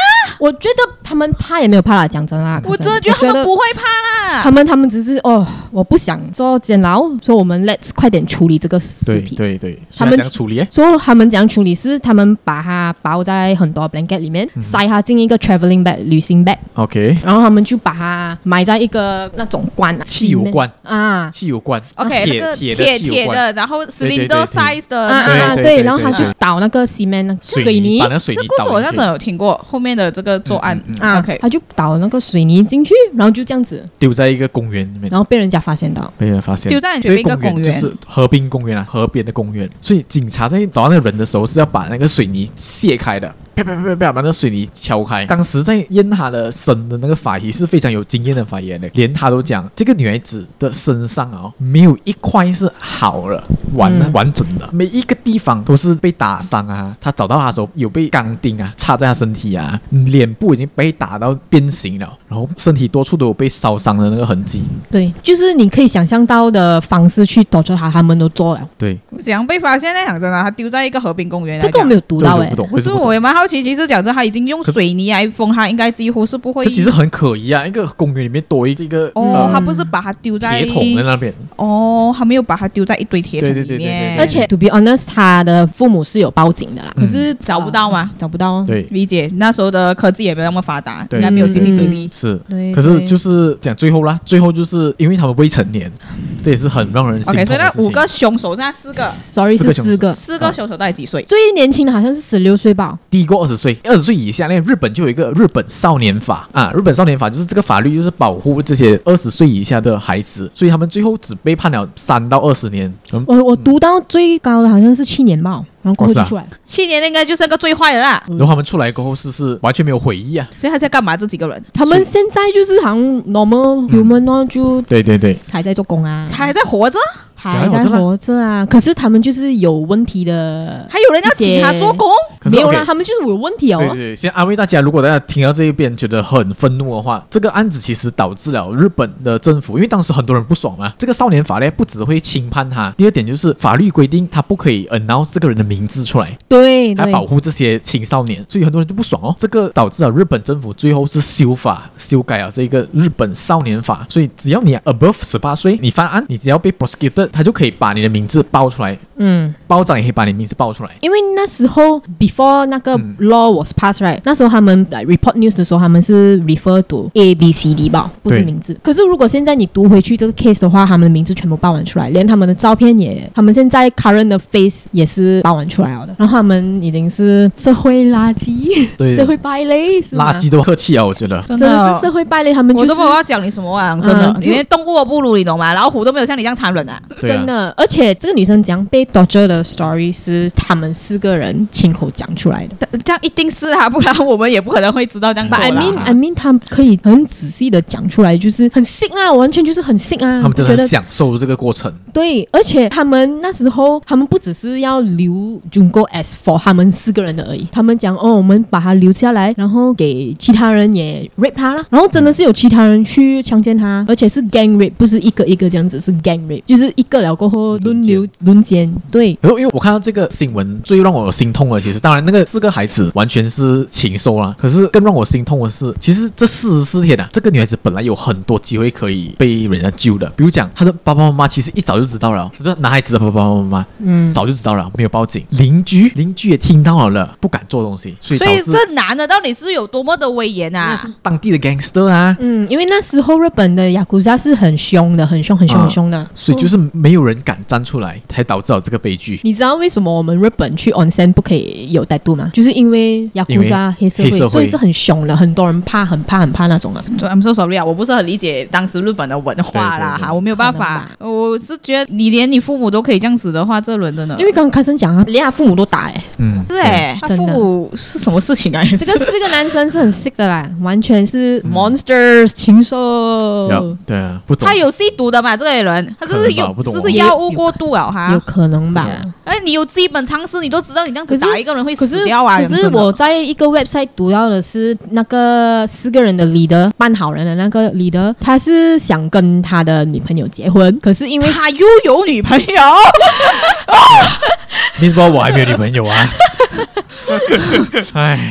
我覺得他們怕也沒有怕啦，講真啦。 我真的覺得他們不會怕啦。 他們只是我不想做監牢，所以我們 let's 快點處理這個屍體。 對， 他們怎樣處理？ 所以他們怎樣處理是他們把它包在很多 blanket 裡面，塞它進一個 traveling bag 旅行 bag。OK。然後他們就把它埋在一個那種罐， 汽油罐啊， 汽油罐。 OK，鐵的，然後 cylinder size 的。 對，然後他就倒那個 cement 水泥， 把那水泥倒。 这故事我好像真的有聽過後面的這個作案。OK， 他就倒那個水泥進去，然後就這樣子丟在一個公園裡面， 然後被人家發現到， 丟在一個公園， 就是河濱公園啊，河邊的公園。所以警察在找那個人的時候是要把那個水泥卸開的，啪，把那個水泥敲開。當時在驗他的身的那個法醫是非常有經驗的法醫的，連他都講這個女孩子的身上沒有一塊是好了完整的，每一個地方都是被打傷啊。他找到他的時候有被鋼釘啊插在他身體啊，臉部已經被打到變形了，然後身體多處都有被燒傷的那個痕跡。 對，就是你可以想象到的方式去躲着他們都做了。 對， 怎樣被發現呢？講真的，他丟在一個河濱公園。 這個我沒有讀到不懂。 可是我也蠻好奇，其實講真，他已經用水泥來封，他應該幾乎是不會。 這其實很可疑啊！一個公園裡面多一個他不是把它丟在鐵桶在那邊。 他沒有把它丟在一堆鐵桶裡面。 而且 to be honest， 他的父母是有報警的啦，可是找不到嗎？ 找不到。 對， 理解。那時候的科技也沒有那麼發達，應該沒有 CCTV。 是，可是就是講最後啦，最後就是因為他們未成年，這也是很讓人心痛的事情。 所以那5個兇手，現在4個 ，sorry 是4個 ，4個兇手大概幾歲？ 最年輕的好像是16歲吧， 低過20歲，20歲以下。那日本就有一個日本少年法啊，日本少年法就是這個法律就是保護這些20歲以下的孩子，所以他們最後只被判了3到20年。 我讀到最高的好像是7年吧。然後過後就出來 ，7年應該就是個最壞的啦。 然後他們出來過後是完全沒有悔意啊。 所以他在幹嘛？這幾個人， 他們現在就是好像 normal human 哦，就對， 還在做工啊， 還在活着。 還在活着啊，可是他們就是有問題的， 還有人要請他做工？ 沒有啦，他們就是有問題哦。 對，先安慰大家，如果大家聽到這一邊覺得很憤怒的話，這個案子其實導致了日本的政府，因為當時很多人不爽嘛。這個少年法呢，不只會輕判他，第二點就是法律規定他不可以 announce 這個人的名字出來， 對， 來保護這些青少年，所以很多人就不爽哦。這個導致了日本政府最後是修改了這個日本少年法，所以只要你 above 18歲，你犯案，你只要被 prosecuted， 他就可以把你的名字報出來，報長也可以把你名字報出來。 因為那時候 before 那個 law was passed right，那時候他們 report news 的時候，他們是 refer to ABCD 吧，不是名字。可是如果現在你讀回去這個 case 的話，他們的名字全部報完出來，連他們的照片也，他們現在 current 的 face 也是報完出來了的。然後他們已經是社會垃圾，對，社會敗類， 垃圾都客氣啊，我覺得真的是社會敗類。他們我都不知道要講你什麼啊，真的，你連動物都不如，你懂嗎？老虎都沒有像你這樣殘忍啊， 真的。而且這個女生講被 torture 的 story 是他們4個人親口講出來的， 這樣一定是啊，不然我們也不可能會知道這樣。 I mean， 他們可以很仔細的講出來，就是很 sick 啊，完全就是很 sick 啊。 他們真的很享受這個過程。 對，而且他們那時候，他們不只是要留 Junko as for 他們4個人的而已，他們講我們把他留下來，然後給其他人也 rape 他了，然後真的是有其他人去強姦他，而且是 gang rape， 不是一個一個這樣子，是 gang rape， 就是一個了過後輪流輪姦。對， 因為我看到這個新聞，最讓我心痛的，其實當然那個4個孩子完全是禽獸啦，可是更讓我心痛的是，其實這44天啊，這個女孩子本來有很多機會可以被人家救的，比如講她的爸爸媽媽其實一早就知道了，這男孩子的爸爸媽媽早就知道了，沒有報警，鄰居也聽到了，不敢做東西，所以這男的到底是有多麼的威嚴啊？ 那是當地的 gangster 啊， 因為那時候日本的雅庫扎是很凶的，很凶的， 所以就是沒有人敢站出來，才導致了這個悲劇。 你知道為什麼我們日本去 onsen 不可以有tattoo嗎？就是因為雅庫扎黑社會，所以是很凶的，很多人很怕那種啊。 I'm so sorry 啊，我不是很理解當時日本的文化啦，哈，我沒有辦法。我是覺得你連你父母都可以這樣子的話，這輪真的， 因為剛剛開聲講啊，連他父母都打是他父母是什麼事情啊？ 這個4個男生是很 sick 的啦，完全是 monsters 禽獸。 對啊，不懂。 他有吸毒的嘛？這個人他就是藥物過度了哈， 有可能吧？ 你有基本常識，你都知道你這樣子打一個人會死掉啊。 可是我在一個 website 讀到的是那個4個人的 leader 扮好人的那個 leader， 他是想跟他的女朋友結婚，可是因為他又有女朋友， 你知道我還沒有女朋友啊？哎。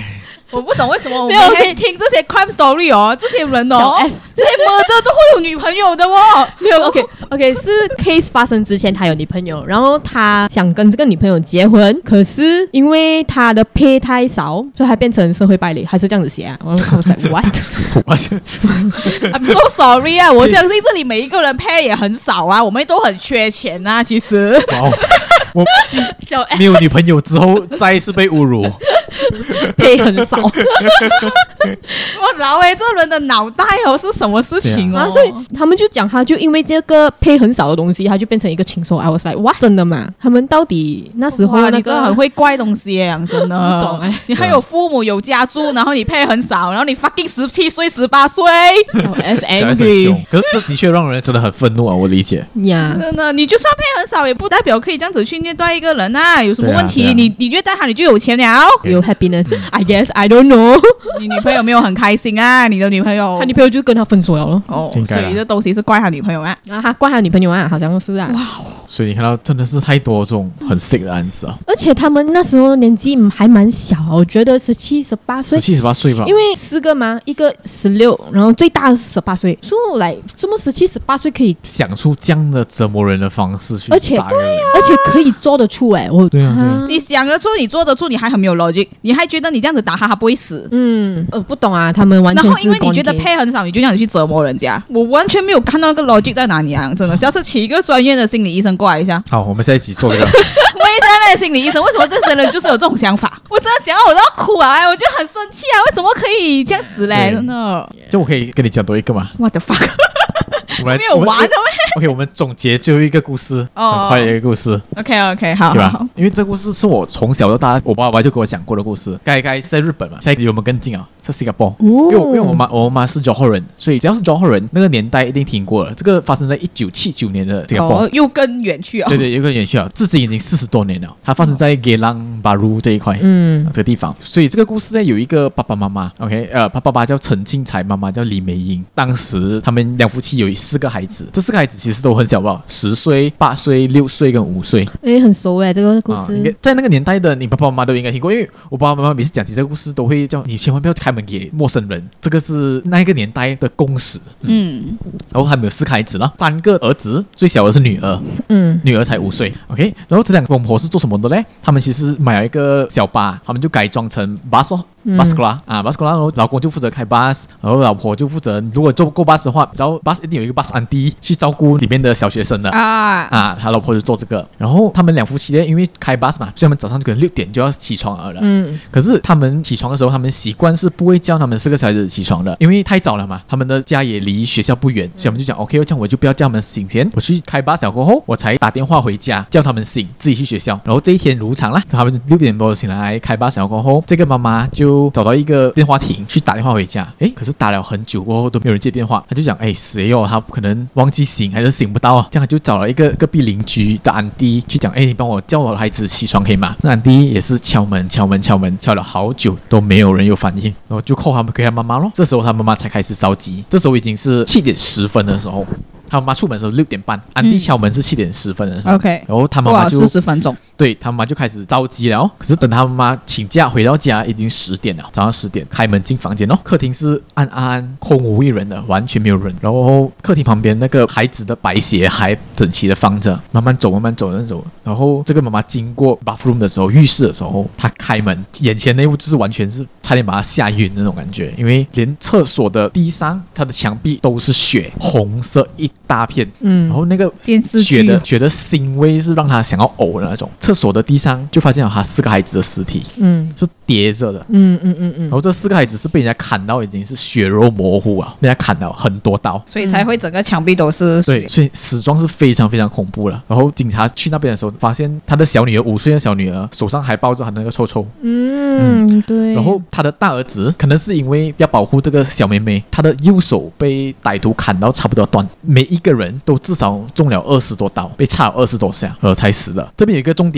我不懂為什麼我們可以聽這些 crime story 哦，這些人哦，這些 murder 都會有女朋友的哦。 沒有 OK 是 case 發生之前他有女朋友，然後他想跟這個女朋友結婚，可是因為他的 pay 太少，所以他變成社會敗類，還是這樣子寫啊？我說 what？I'm so sorry 啊，我相信這裡每一個人 pay 也很少啊，我們都很缺錢啊，其實。 我沒有女朋友之後再一次被侮辱 pay 很少。 我老欸，這人的腦袋哦是什麼事情哦？ 所以他們就講他就因為這個 pay 很少的東西，他就變成一個禽獸。I was like what？ 真的嗎？他們到底那時候你真的很會怪東西耶，養生的。 不懂哎， 你還有父母有家住，然後你 pay 很少，然後你 fucking 17歲18歲 so as angry。 可是這的確讓人真的很憤怒啊，我理解呀。 真的，你就算 pay 很少，也不代表可以這樣子去虐待一個人啊，有什麼問題？你虐待他，你就有錢了， 有 happiness。I guess I don't know。 你女朋友沒有很開心啊？你的女朋友， 他女朋友就跟他分手了咯。 哦，所以這東西是怪他女朋友啊？ 他怪他女朋友啊，好像是啊。哇， 所以你看到真的是太多這種很 sick 的案子啊。 而且他們那時候年紀還蠻小，我覺得17、18歲 ，17、18歲吧。 因為4個嘛，一個16，然後最大的是18歲，所以來這麼17、18歲可以想出這樣的折磨人的方式去殺人， 而且可以做得出哎， 对啊， 你想得出，你做得出，你还很沒有 logic， 你還覺得你這樣子打他不會死？ 不懂啊，他們完全是。 然後因為你覺得 pay 很少，你就這樣子去折磨人家，我完全沒有看到那個 logic 在哪裡啊！真的，下次請一個專業的心理醫生過來一下。 好，我們下一集做這個。 問一下那個心理醫生，為什麼這些人就是有這種想法？我真的講到我都要哭啊！我就很生氣啊！為什麼可以這樣子嘞？真的。 就我可以跟你講多一個嗎 ？What the fuck？ 沒有玩的咩 ？OK， 我們總結最後一個故事，很快的一個故事。 OK， 好， 對吧？因為這個故事是我從小到大，我爸爸就跟我講過的故事。該是在日本嘛，現在離我們更近啊，是新加坡。因為我媽是 Johor 人，所以只要是 Johor 人，那個年代一定聽過了。這個發生在1979年的新加坡， 又更遠去啊。 對，又更遠去了，至今已經40多年了。它發生在 Geylang Bahru 這一塊，這個地方。所以這個故事呢，有一個爸爸媽媽 ，OK， 他爸爸叫陳慶才，媽媽叫李美英。當時他們兩夫妻有4個孩子，這4個孩子其實都很小吧，10歲、8歲、6歲跟5歲。 很熟哎，這個故事。 在那個年代的你爸爸媽媽都應該聽過，因為我爸爸媽媽每次講起這個故事，都會叫你千萬不要開門給陌生人，這個是那個年代的共識。然後他們有4個孩子了，3個兒子，最小的是女兒，女兒才5歲。OK， 然後這兩個公婆是做什麼的嘞？他們其實買了一個小巴，他們就改裝成巴士。bus class 啊 bus class， 然後老公就負責開 bus， 然後老婆就負責，如果坐過 bus 的話，只要 bus 一定有一個 bus auntie 去照顧裡面的小學生的他老婆就做這個。然後他們兩夫妻呢，因為開 bus 嘛，所以他們早上就可能6點就要起床了。可是他們起床的時候，他們習慣是不會叫他們4個小孩子起床的，因為太早了嘛，他們的家也離學校不遠，所以我們就講 OK， 這樣我就不要叫他們醒前，我去開 bus 了過後，我才打電話回家叫他們醒，自己去學校。然後這一天如常啦，他們6點多醒來開 bus 了過後，這個媽媽就找到一個電話亭去打電話回家，可是打了很久過後都沒有人接電話，他就講誰哦，他可能忘記醒還是醒不到，這樣他就找了一個隔壁鄰居的安迪去講，你幫我叫我的孩子起床可以嗎？那安迪也是敲門敲了好久都沒有人有反應，然後就扣他們給他媽媽咯。這時候他媽媽才開始着急，這時候已經是7點10分的時候。他媽媽出門的時候6點半，安迪敲門是7點10分的時候。 OK， 然後他媽媽就 40分鐘， 對他媽媽就開始着急了。可是等他媽媽請假回到家，已經10點了，早上10點開門進房間哦，客廳是暗暗空無一人的，完全沒有人。然後客廳旁邊那個孩子的白鞋還整齊的放着，慢慢走。然後這個媽媽經過 bathroom 的時候，浴室的時候，她開門，眼前那一幕就是完全是差點把她嚇暈那種感覺，因為連廁所的地上，它的牆壁都是血，紅色一大片，然後那個血的腥味是讓他想要嘔的那種。廁所的地上就發現了他4個孩子的屍體，是疊着的，然後這4個孩子是被人家砍到已經是血肉模糊啊，被人家砍到很多刀， 所以才會整個牆壁都是血。 對，所以死狀是非常非常恐怖了。然後警察去那邊的時候，發現他的小女兒5歲的小女兒手上還抱着他那個臭臭， 對。 然後他的大兒子可能是因為要保護這個小妹妹，他的右手被歹徒砍到差不多斷，每一個人都至少中了20多刀，被插了20多下才死了。這邊有一個重點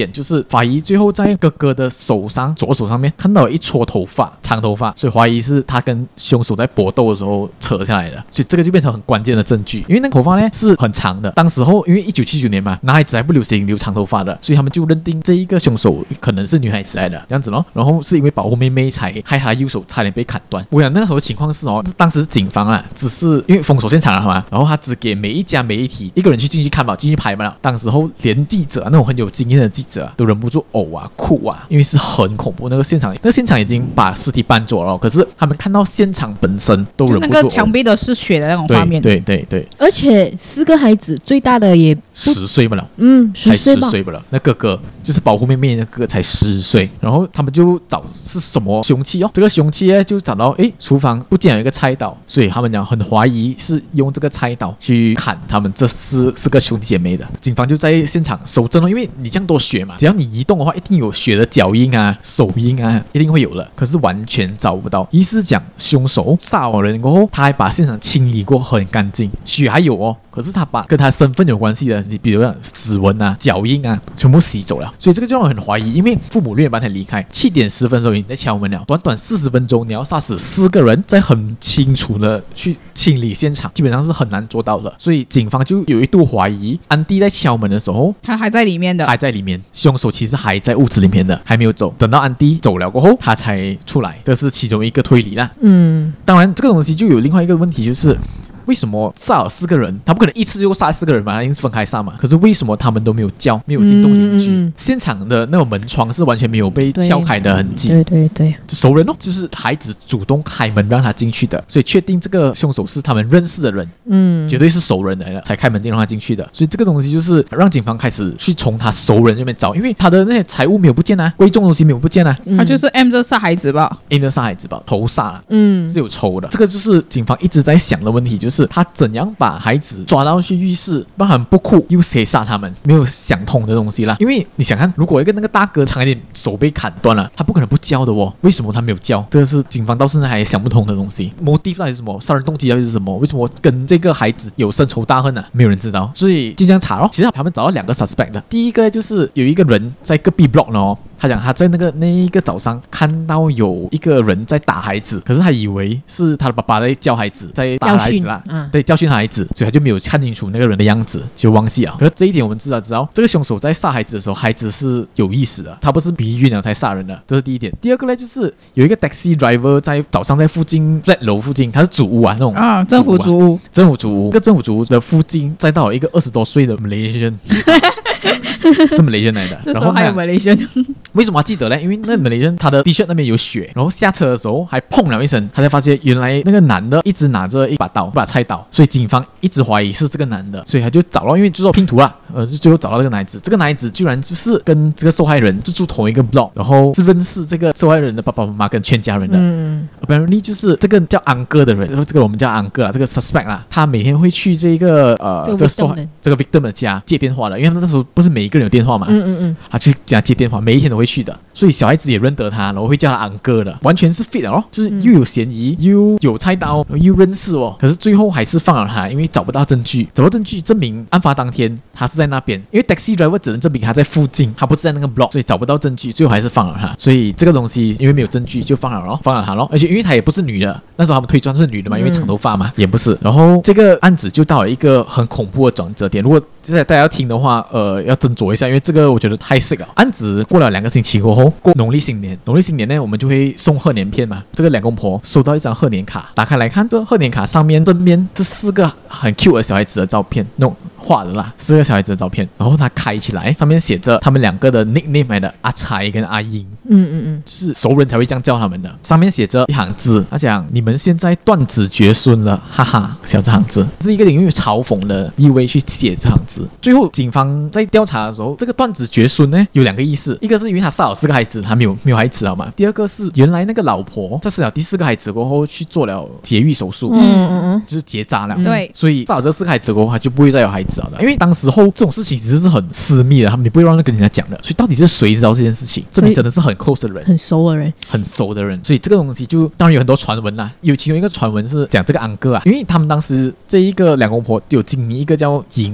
點就是法醫最後在哥哥的手上左手上面看到了一撮頭髮，長頭髮，所以懷疑是他跟兇手在搏鬥的時候扯下來的，所以這個就變成很關鍵的證據。因為那個頭髮呢是很長的，當時候因為1979年嘛，男孩子還不流行留長頭髮的，所以他們就認定這一個兇手可能是女孩子來的這樣子咯。然後是因為保護妹妹才害他右手差點被砍斷。我想那個時候的情況是當時警方啊只是因為封鎖現場了嘛，然後他只給每一家媒體一個人去進去看吧，進去拍嘛。當時候連記者那種很有經驗的記者都忍不住嘔啊哭啊，因為是很恐怖。那個现场已經把屍體搬走了，可是他們看到現場本身都忍不住， 那個牆壁都是血的那種畫面。 對， 而且4個孩子，最大的也 10歲不了 ，10歲吧， 才10歲不了。那哥哥就是保護妹妹那個才10歲，然後他们就找是什麼兇器這個兇器呢就找到廚房不見有一個菜刀，所以他們講很懷疑是用這個菜刀去砍他們這四個兄弟姐妹的。警方就在現場搜證因為你這樣多血嘛，只要你移動的話一定有血的腳印啊手印啊一定會有的，可是完全找不到。意思是講兇手殺完人過後他還把現場清理過很乾淨，血還有可是他把跟他身份有關係的比如像指紋啊腳印啊全部洗走了，所以這個就讓人很懷疑。因為父母6點半才離開，7點10分的時候已經在敲門了，短短40分鐘你要殺死4個人，再很清楚的去清理現場，基本上是很難做到的。所以警方就有一度懷疑安迪在敲門的時候他還在裡面的， 還在裡面，兇手其實還在屋子裡面的，還沒有走，等到安迪走了過後他才出來，這是其中一個推理啦。當然這個東西就有另外一個問題，就是為什麼殺了4個人？他不可能一次就殺4個人嘛，他一定是分開殺嘛。可是為什麼他們都沒有叫，沒有行動鄰居？現場的那種門窗是完全沒有被撬開的痕跡。 對， 就熟人就是孩子主動開門讓他進去的，所以確定這個兇手是他們認識的人，絕對是熟人來的才開門進讓他進去的。所以這個東西就是讓警方開始去從他熟人這邊找，因為他的那些財物沒有不見貴重東西沒有不見他就是 M 這殺孩子吧 ，M 這殺孩子吧，頭殺了，是有仇的。這個就是警方一直在想的問題，就是他怎樣把孩子抓到去浴室，讓他們不哭，又誰殺他們？沒有想通的東西啦。因為你想看，如果那個大哥長一點手被砍斷了，他不可能不叫的為什麼他沒有叫？這個是警方到現在還想不通的東西。motive 到底是什麼？殺人動機到底是什麼？為什麼跟這個孩子有深仇大恨呢？沒有人知道，所以就這樣查咯。其實他們找到2個 suspect 的，第一個就是有一個人在隔壁 block 呢他講他在那一個早上看到有一個人在打孩子，可是他以為是他的爸爸在教孩子，在打孩子啦，對，教訓孩子，所以他就沒有看清楚那個人的樣子，就忘記了。可是這一點我們知道這個兇手在殺孩子的時候，孩子是有意識的，他不是迷暈了才殺人的，這是第一點。第二個呢，就是有一個 taxi driver 在早上在附近 flat 樓附近，他是主屋那種政府主屋， 政府主屋，這個政府主屋的附近載到一個20多歲的 Malaysian 是 Malaysian 來的， 這時候還有 Malaysian。 為什麼要記得呢？因為那 Malaysian 他的 T-shirt 那邊有血，然後下車的時候還砰了一聲，他才發現原來那個男的一直拿着一把菜刀，所以警方一直懷疑是這個男的，所以他就找到，因為就做拼圖啦，就最後找到這個男子。這個男子居然就是跟這個受害人是住同一個 block， 然後是認識這個受害人的爸爸媽媽跟全家人的。Apparently 就是這個叫安哥的人，然後這個我們叫安哥啦，這個 suspect 啦，他每天會去這個這個 victim 的家接電話的，因為他那時候不是每一個人有電話嘛，他去家接電話，每一天都會去的，所以小孩子也認得他，然後會叫他安哥的，完全是 fit 的就是又有嫌疑，又有菜刀，又認識可是最後還是放了他，因為找不到證據證明案發當天他是在那邊，因為 taxi driver 只能證明他在附近，他不是在那個 block， 所以找不到證據，最後還是放了他。所以這個東西因為沒有證據就放了他咯，而且因為他也不是女的，那時候他們推斷是女的嘛，因為長頭髮嘛，也不是。然後這個案子就到了一個很恐怖的轉折點，如果大家要聽的話，要斟酌一下，因為這個我覺得太 sick 了。案子過了2個星期過後，過農曆新年呢，我們就會送賀年片嘛。這個兩公婆收到一張賀年卡，打開來看，這賀年卡上面正面這4個很 cute 的小孩子的照片，那種畫的啦，4個小孩子的照片。然後他開起來，上面寫着他們2個的 nickname 來的，阿財跟阿英。就是熟人才會這樣叫他們的。上面寫着一行字，他講你們現在斷子絕孫了，哈哈，寫這行字是一個領域嘲諷的意味去寫這行字。最後警方在調查的時候，這個斷子絕孫呢有2個意思，一個是因為他殺了4個孩子，他沒有孩子了嘛。第二個是原來那個老婆在生了第4個孩子過後去做了節育手術，就是結紮了。 對， 所以殺了這4個孩子過後，他就不會再有孩子了的。因為當時候這種事情其實是很私密的，他們也不會讓人跟人家講的。所以到底是誰知道這件事情？這裡真的是很 close 的人， 很熟的人。 所以這個東西就當然有很多傳聞啦，有其中一個傳聞是講這個安哥啊，因為他們當時這一個兩公婆有經營一個叫淫穢的東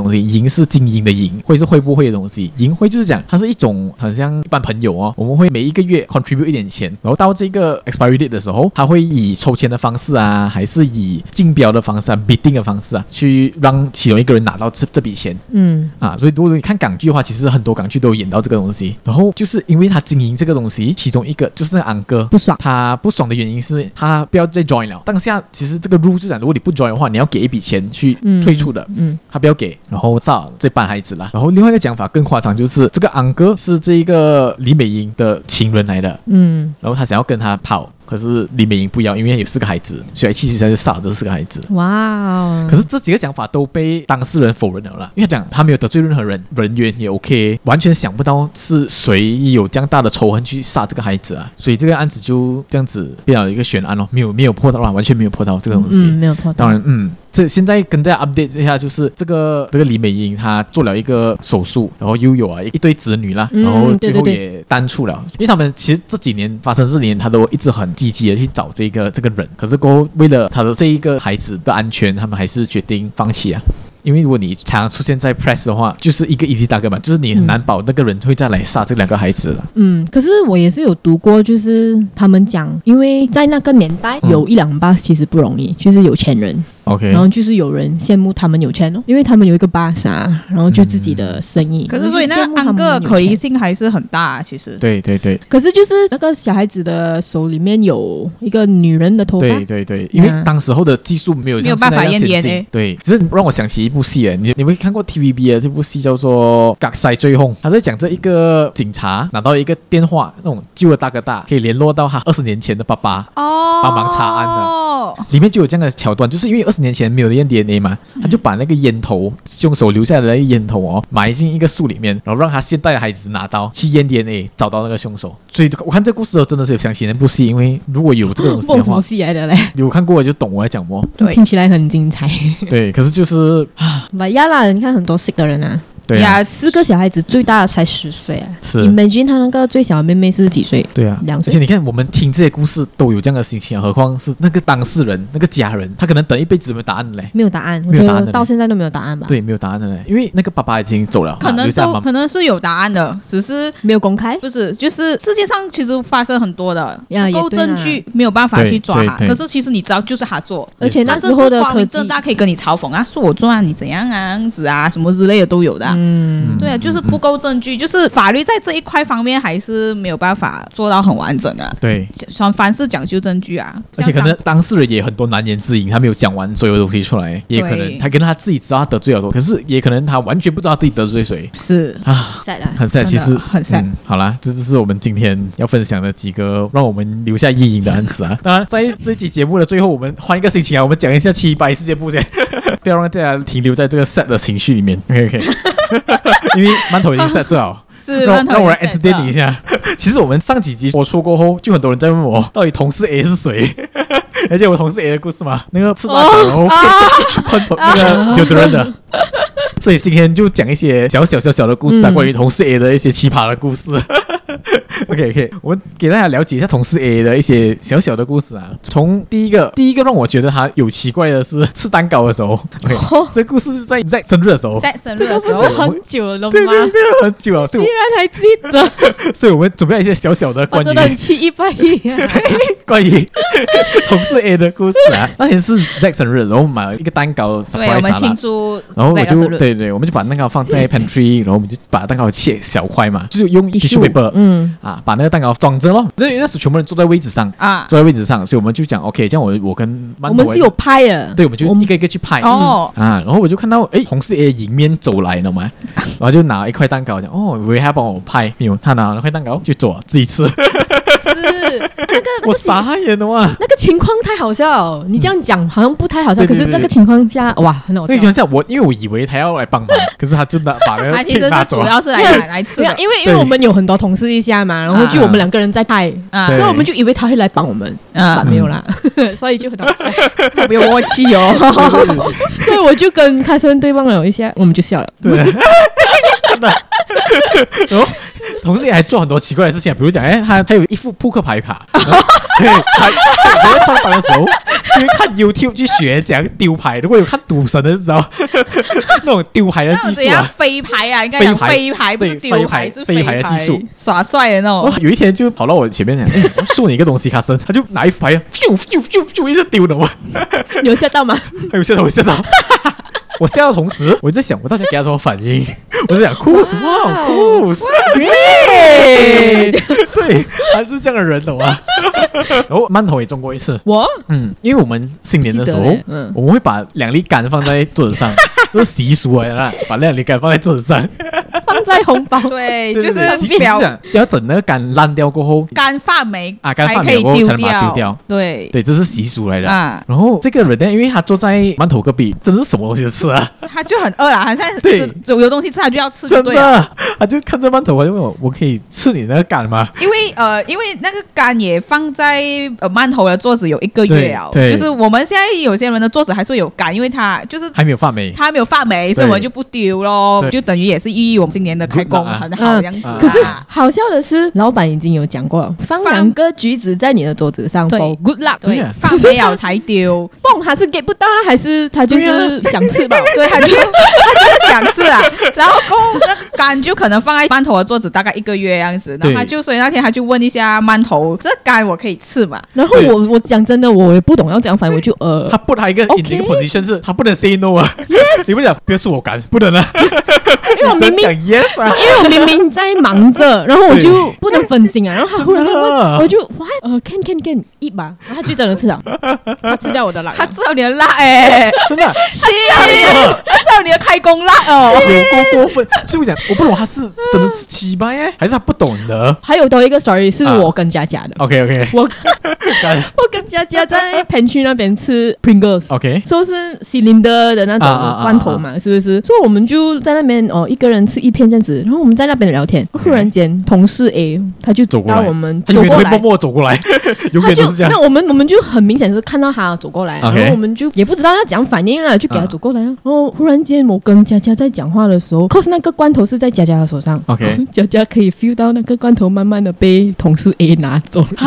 東西，營是精英的營，會是會不會的東西。營會就是講它是一種很像一般朋友哦，我們會每一個月 contribute 一點錢，然後到這個 expiry date 的時候，它會以抽籤的方式啊，還是以競標的方式啊 bidding 的方式啊，去讓其中一個人拿到這筆錢。所以如果你看港劇的話，其實很多港劇都有演到這個東西。然後就是因為他經營這個東西，其中一個就是那個安哥不爽， 他不爽的原因是他不要再 join 了。當下其實這個 rule 就講，如果你不 join 的話，你要給一筆錢去退出的。他不要給，然後殺這班孩子啦。然後另外一個講法更誇張，就是這個安哥是這個李美英的情人來的。然後他想要跟他跑。可是李美英不要，因為有4個孩子，所以氣勢下就殺了這4個孩子。 哇！ 可是這幾個講法都被當事人否認了啦，因為他講他沒有得罪任何人，人緣也 OK， 完全想不到是誰有這樣大的仇恨去殺這個孩子啊，所以這個案子就這樣子變成了一個懸案哦，沒有破到啦，完全沒有破到這個東西， 沒有破到。 當然，這現在跟大家 update 一下，就是這個李美英她做了一個手術，然後又有一對子女啦，然後最後也單出了，因為他們其實這幾年發生這幾年，他都一直很積極的去找這個人，可是過後為了他的這一個孩子的安全，他們還是決定放棄啊。因為如果你常常出現在 press 的話，就是一個 easy target 嘛，就是你很難保那個人會再來殺這2個孩子了。 可是我也是有讀過，就是他們講，因為在那個年代有1-2 bus 其實不容易，就是有錢人。 OK， 然後就是有人羨慕他們有錢哦，因為他們有一個 bus 啊，然後就自己的生意。 可是所以那个安哥可疑性還是很大，其實。 對。 可是就是那個小孩子的手裡面有一個女人的頭髮。 對，因為當時候的技術沒有辦法驗 DNA。對，只是讓我想起一部戲誒，你們看過 TVB 的這部戲叫做《隔世追兇》，他在講這一個警察拿到一個電話，那種救了大哥大，可以聯絡到他20年前的爸爸，幫忙查案的。裡面就有這樣的橋段，就是因為20年前沒有驗 DNA 嘛，他就把那個煙頭，兇手留下來的煙頭哦，埋進一個樹裡面，然後讓他現代的孩子拿到去驗 DNA，找到那個兇手。所以我看這個故事真的是有想起那部戲，因為如果有這個東西的話， 什麼戲來的嘞？ 有看過就懂我在講什麼。 對，聽起來很精彩。 對，可是就是呀啦，你看很多 sick 的人啊。對啊，4個小孩子最大的才10歲啊！是 ，Imagine 他那個最小的妹妹是幾歲？對啊，2歲。而且你看，我們聽這些故事都有這樣的心情啊，何況是那個當事人、那個家人，他可能等一輩子沒有答案嘞。沒有答案，我覺得到現在都沒有答案吧？對，沒有答案的嘞，因為那個爸爸已經走了， 可能是有答案的，只是沒有公開。不是，就是世界上其實發生很多的，不夠證據沒有辦法去抓他。可是其實你知道，就是他做，而且那時候的科技，正大可以跟你嘲諷啊，是我做啊，你怎樣啊，樣子啊，什麼之類的都有的。對啊。就是不夠證據，就是法律在這一塊方面還是沒有辦法做到很完整的。對，凡事講究證據啊， 而且可能當事人也很多難言之隱，他沒有講完所有東西出來，也可能他跟他自己知道他得罪了多，可是也可能他完全不知道自己得罪誰。是啊，很 sad， 其實很 sad。好啦，這就是我們今天要分享的幾個讓我們留下陰影的案子啊。當然，在這期節目的最後，我們換一個心情啊，我們講一下718世界部先，不要讓大家停留在這個 sad 的情緒裡面。OK。因為饅頭已經 set 最好，是讓我來 entertain 你一下。其實我們上幾集播出過後，就很多人在問我，到底同事 A 是誰？而且我同事 A 的故事嘛，那個吃大腸然後噴那個deodorant的。所以今天就講一些小小的故事啊，關於同事 A 的一些奇葩的故事。OK， 我們給大家了解一下同事 A 的一些小小的故事啊。從第一個讓我覺得他有奇怪的是吃蛋糕的時候。這個故事是在 Zack 生日的時候。 這個不是很久了嗎？對， 很久了。 竟然還記得。 所以我們準備了一些小小的關於， 我真的很718啊。 關於同事 A 的故事啊。那天是 Zack 生日，然後買了一個蛋糕 surprise 他。對，我們慶祝。然後我就對，我們就把蛋糕放在 pantry，然後我們就把蛋糕切小塊嘛，就是用 tissue paper，把那個蛋糕裝着咯。因為那時全部人坐在位置上啊，坐在位置上，所以我們就講 OK，這樣我跟我們是有拍的，對，我們就一個一個去拍然後我就看到同事 A 迎面走來了嘛，然後就拿一塊蛋糕講我以為他幫我拍，沒有，他拿了塊蛋糕就走了，自己吃。是那個我傻眼了哇！ 那個情況太好笑，你這樣講好像不太好笑，可是那個情況下哇，很好笑。那個情況下因為我以為他要來幫忙，可是他就把那個其實是主要是來吃的， 因為我們有很多同事一下嘛，然後就我們2個人在拍，所以我們就以為他會來幫我們，沒有啦，所以就很好笑，特別默契哦。所以我就跟凱森對望了一下，我們就笑了。對， 同事也還做很多奇怪的事情，比如講，他有一副撲克牌卡，對，我在上班的時候就會看 YouTube 去學怎樣丟牌。如果有看賭神的就知道那種丟牌的技術啊， 飛牌啊，應該講飛牌，不是丟牌，是飛牌的技術， 耍帥的那種。 有一天就跑到我前面講，我送你一個東西，卡森，他就拿一副牌，就一直丟的嘛。 有嚇到嗎？ 有嚇到，我嚇到。我笑的同時，我在想我大家給他什麼反應？我在想酷什麼？酷，對，他是這樣的人，懂嗎？然後饅頭也中過一次。 我， 因為我們新年的時候，我們會把2粒柑放在桌子上，這是習俗來的，把2粒柑放在桌子上。 放在紅包， 對，就是要等那個柑爛掉過後， 柑發霉啊，柑發霉過後才能把它丟掉。 對， 這是習俗來的。然後這個人呢，因為他坐在饅頭隔壁，這是什麼東西吃啊？ 他就很餓啦，他現在有東西吃，他就要吃， 真的，他就看着饅頭，他就問我可以吃你那個柑嗎？ 因為那個柑也放在饅頭的桌子有1個月了，就是我們現在有些人的桌子還是有柑，因為他就是還沒有發霉， 所以我們就不丟咯，就等於也是寓意我們今年的開工很好這樣子。 可是好笑的是，老闆已經有講過了，放2個橘子在你的桌子上 for good luck， 對，放沒有才丟。 蹦他是給不到，還是他就是想吃吧？ 對，他就是想吃啊。然後那個柑就可能放在饅頭的桌子大概1個月這樣子，然後所以那天他就問一下饅頭，這柑我可以吃嗎？ 然後我講真的，我也不懂要怎樣反應，我就他不他一個 position 是他不能 say no 啊，你不講不要吃我柑，不能啊。 因為我明明因為我明明在忙着，然後我就不能分心啊。然後他忽然就問，我就 can eat 吧，然後他就真的吃了，他吃掉我的辣， 他吃了你的辣真的， 是他吃了你的開工辣哦， 有過分。所以我講，我不懂他是真的是奇葩還是他不懂的。 還有多一個 story 是我跟佳佳的。 OK， 我跟佳佳在 pantry 那邊吃 Pringles， 說是 cylinder 的那種罐頭嘛，是不是？所以我們就在那邊一個人吃1片這樣子，然後我們在那邊聊天，忽然間同事 A 他就走過來，我們走過來，默默走過來，永遠都是這樣。 那我們就很明顯是看到他走過來，然後我們就也不知道要怎樣反應了，就給他走過來。然後忽然間我跟佳佳在講話的時候 ，cause 那個罐頭是在佳佳的手上佳佳可以 feel 到那個罐頭慢慢的被同事 A 拿走了。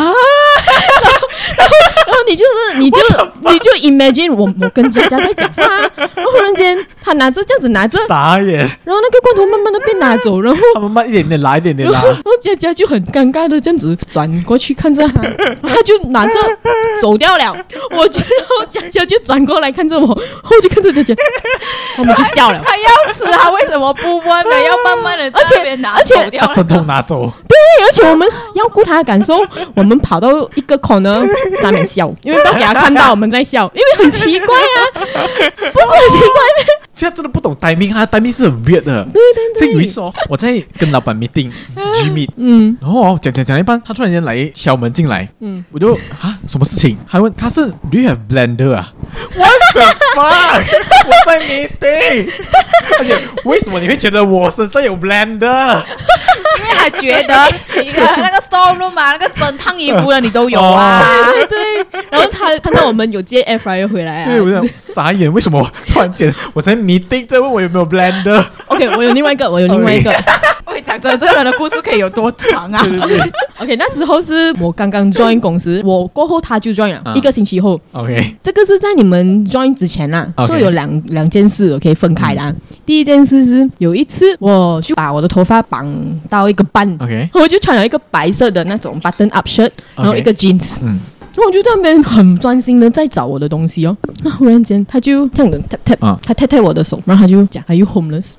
然後你就 imagine 我跟佳佳在講話，然後忽然間他拿着這樣子拿着， 傻眼， 然後那個罐頭慢慢的被拿走，然後他慢慢一點點拿，一點點拿， 然後佳佳就很尷尬的這樣子轉過去看着他，他就拿着走掉了。我覺得佳佳就轉過來看着我，然後我就看着佳佳，我們就笑了。 他要吃，他為什麼不問呢？要慢慢的在這邊拿走掉， 他通拿走。 對，而且我們要顧他的感受，我們跑到一個 corner 在那邊笑，因為不要給他看到我們在笑，因為很奇怪啊，不是很奇怪嗎？ 現在真的不懂 timing， 他的 timing 是很 weird 的。 對， 所以有一次我在跟老闆 meeting，G meet，然後講一半，他突然間來敲門進來，我就什麼事情？他問他是 Do you have blender 啊 ？What the fuck？ 我在 meeting， 而且為什麼你會覺得我身上有 blender？ 因為他覺得你的那個 store room 嘛，那個整燙衣服的你都有啊。 對。然後他看到我們有接 air fryer 回來啊， 對，我想傻眼，為什麼突然間我在 meeting 在問我有沒有 blender？ OK， 我有另外一個。我講真，這個人的故事可以有多長啊？ 對。 OK， 那時候是我剛剛 join 公司，我過後他就 join 了，1個星期後。 OK， 這個是在你們 join 之前啦，所以有兩件事可以分開的。第一件事是有一次我就把我的頭髮綁到一個半，我就穿了一個白色的那種 button up shirt， 然後一個 jeans。然後我就在那邊很專心的在找我的東西哦，那忽然間他就這樣子 tap， 他 tap 我的手，然後他就講 Are you homeless？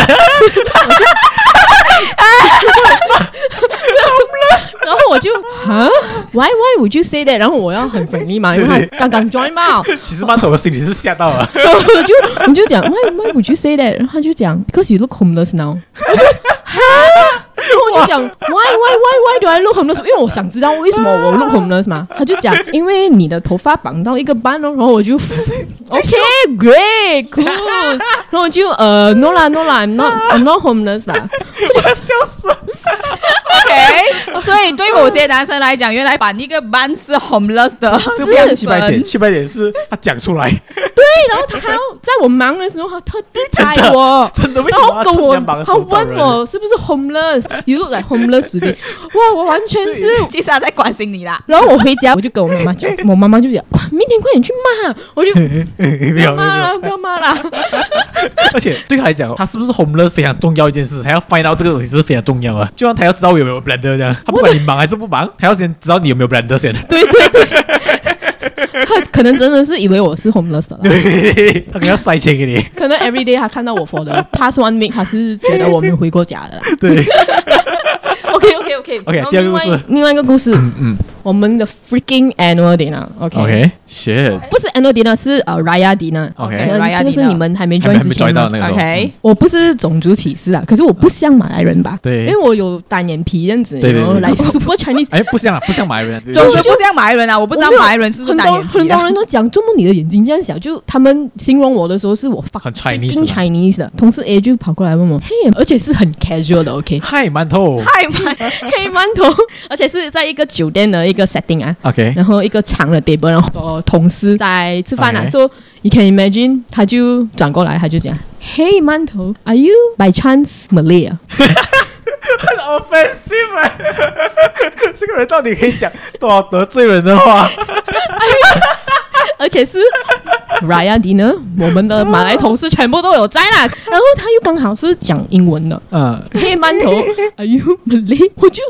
然後我就Why would you say that？ 然後我要很 friendly 嘛，因為他剛剛 join 嘛。 其實饅頭的心裡是嚇到了。 我就講 Why would you say that？ 然後他就講 Because you look homeless now。我就講 Why do I look homeless？ 因為我想知道為什麼我 look homeless 嘛。他就講因為你的頭髮綁到一個半哦。然後我就 OK great cool。然後我就No 啦 I'm not homeless 啦。 我要笑死了。 OK， 所以對某些男生來講，原來把那個 ban 是 homeless 的， 這不是700點是他講出來。 對，然後他還要在我忙的時候，他特地猜我， 真的，為什麼他趁人忙的時候找人？ 他問我是不是 homeless，you look like homeless today。哇，我完全是， 其實他在關心你啦。 然後我回家，我就跟我媽媽講，我媽媽就講，明天快點去罵，我就不要罵了，不要罵了。 而且對他來講，他是不是 homeless 非常重要一件事，他要 find out 這個東西是非常重要的。就像他要知道有沒有 blender 這樣，他不管你忙還是不忙，他要先知道你有沒有 blender 先。 對。他可能真的是以為我是 homeless 的啦， 對，他可能要塞錢給你。 可能 every day 他看到我 for the past 1 week， 他是覺得我沒有回過家的啦。 對。 OK， 第二個故事， 另外一個故事，我們的 freaking annual dinner，OK，shit， 不是 annual dinner， 是Raya dinner，OK， 這個是你們還沒 join 之前的，OK， 我不是種族歧視啊，可是我不像馬來人吧？對，因為我有單眼皮這樣子，然後來 super Chinese， 哎，不像馬來人， 种族不像馬來人啊，我不知道馬來人是不是單眼皮， 很多人都講，怎麼你的眼睛這樣小？就他們形容我的時候，是我很 Chinese 的，同事 A 就跑過來問我，嘿，而且是很 casual 的 ，OK， 嗨饅頭， 黑饅頭，而且是在一個酒店的一個 setting 啊 ，OK， 然後一個長的 table， 然後同事在吃飯啊，說 you can imagine， 他就轉過來，他就講，嘿饅頭 ，Are you by chance Malay？ 很 offensive， 這個人到底可以講多少得罪人的話？ 而且是 Raya dinner， 我們的馬來同事全部都有在啦。然後他又剛好是講英文的，黑饅頭 ，Are you Malay？ 我就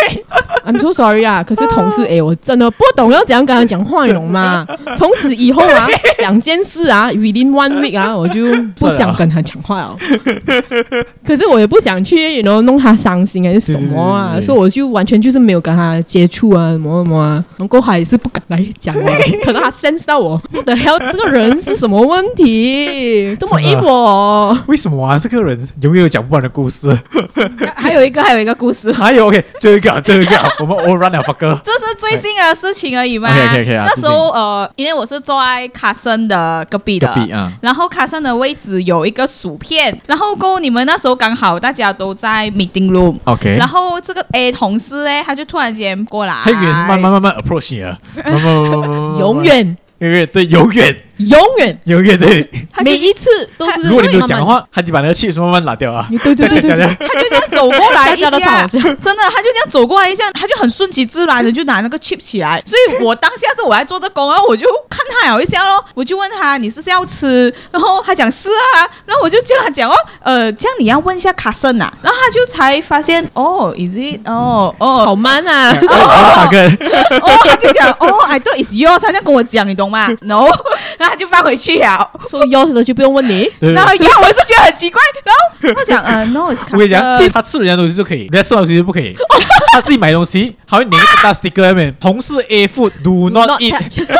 I'm so sorry 啊。可是同事我真的不懂要怎樣跟他講話，你懂嗎？從此以後啊，2件事啊 ，within 1 week 啊，我就不想跟他講話了。可是我也不想去弄他傷心還是什麼啊，所以我就完全就是沒有跟他接觸啊，什麼啊，然後他也是不敢來講我，可能他 sense 到我的 hell 這個人是什麼問題，這麼陰我？ 為什麼啊？這個人永遠有講不完的故事。 還有一個故事， 還有 OK， 最後一個，我們 all run 了，fuck哥。 這是最近的事情而已嘛。 OK 啊。 那時候因為我是坐在卡森的隔壁的，然後卡森的位置有一個薯片，然後過後你們那時候剛好大家都在 meeting room，OK， 然後這個 A 同事呢，他就突然間過來， 他以為是慢慢 approach 你啊， 永遠。 對，永遠對， 每一次都是。 如果你沒有講的話，他就把那個 chips 慢慢拿掉啊。 對， 他就這樣走過來一下，真的，他就這樣走過來一下，他就很順其自然的就拿那個 chips 起來。所以我當下是我在做這工，然後我就看他一下咯，我就問他你是要吃，然後他講是啊，然後我就跟他講這樣你要問一下卡森啊，然後他就才發現is it 好慢啊， 他就講I thought it's yours， 他這樣跟我講，你懂嗎 ？No， 然後他就放回去了。 說 yours 的就不用問你。 然後我是覺得很奇怪，然後他講no， it's 卡森。 我跟你講，其實他吃人家東西就可以，人家吃完東西就不可以。他自己買東西，他會粘一個大 sticker 上面，同事 A food do not eat。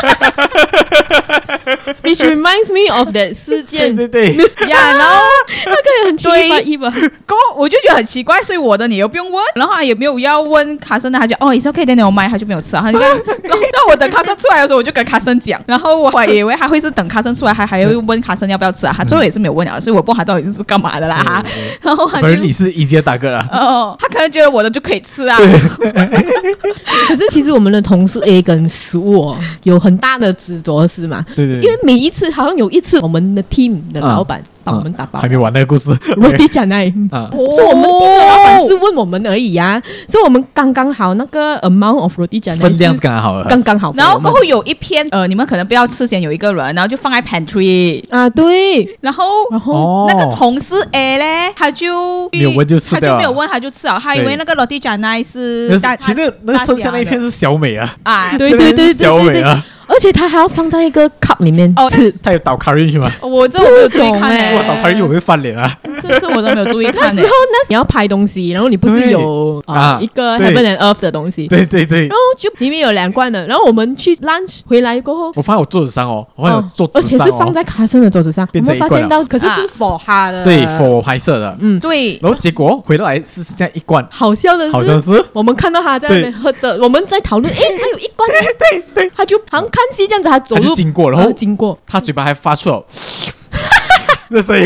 Which reminds me of that 事件。 對。 然後那個也很奇怪， 我就覺得很奇怪，所以我的你又不用問，然後他也沒有要問卡森的，他就it's okay，等我買，他就沒有吃啊。他就那我等卡森出來的時候，我就跟卡森講，然後我還以為他會是等卡森出來，還要問卡森要不要吃啊。他最後也是沒有問啊，所以我不知道他到底是幹嘛的啦。然後反正你是一階大哥啦。 他可能覺得我的就可以吃啊。 可是其實我們的同事 A 跟食物有很大的執着是嗎？對，因為每一次好像有一次我們的 team 的老闆幫我們打包， 還沒完那個故事。 Roti Canai， 所以我們 team 的老闆是問我們而已啊，所以我們剛剛好那個 amount of Roti Canai 分量是剛剛好的， 剛剛好。 然後過後有一片你們可能不要吃先有一個人，然後就放在 pantry 啊，對。 然後那個同事 A 呢，他就沒有問就吃掉， 他就沒有問他就吃了，他以為那個 Roti Canai 是其實那個剩下那一片是小美啊， 對， 小美啊。 而且他還要放在一個 cup 裡面吃， 他有倒 curry 去嗎？ 我這我沒有注意看我倒 curry 我會翻臉啊！ 這我都沒有注意看。 那時候你要拍東西，然後你不是有一個 Heaven and Earth 的東西？ 對。 然後就裡面有2罐的，然後我們去 lunch 回來過後， 我放在我桌子上我放在桌子上而且是放在卡森的桌子上。我們發現到，可是是 for 他的， 對 for 拍攝的， 對。 然後結果回來是這樣一罐。 好笑的是，我們看到他在那邊喝着，我們在討論，他有一罐，對，他就好像看戲這樣子，他走路經過，然後經過， 他嘴巴還發出了那所以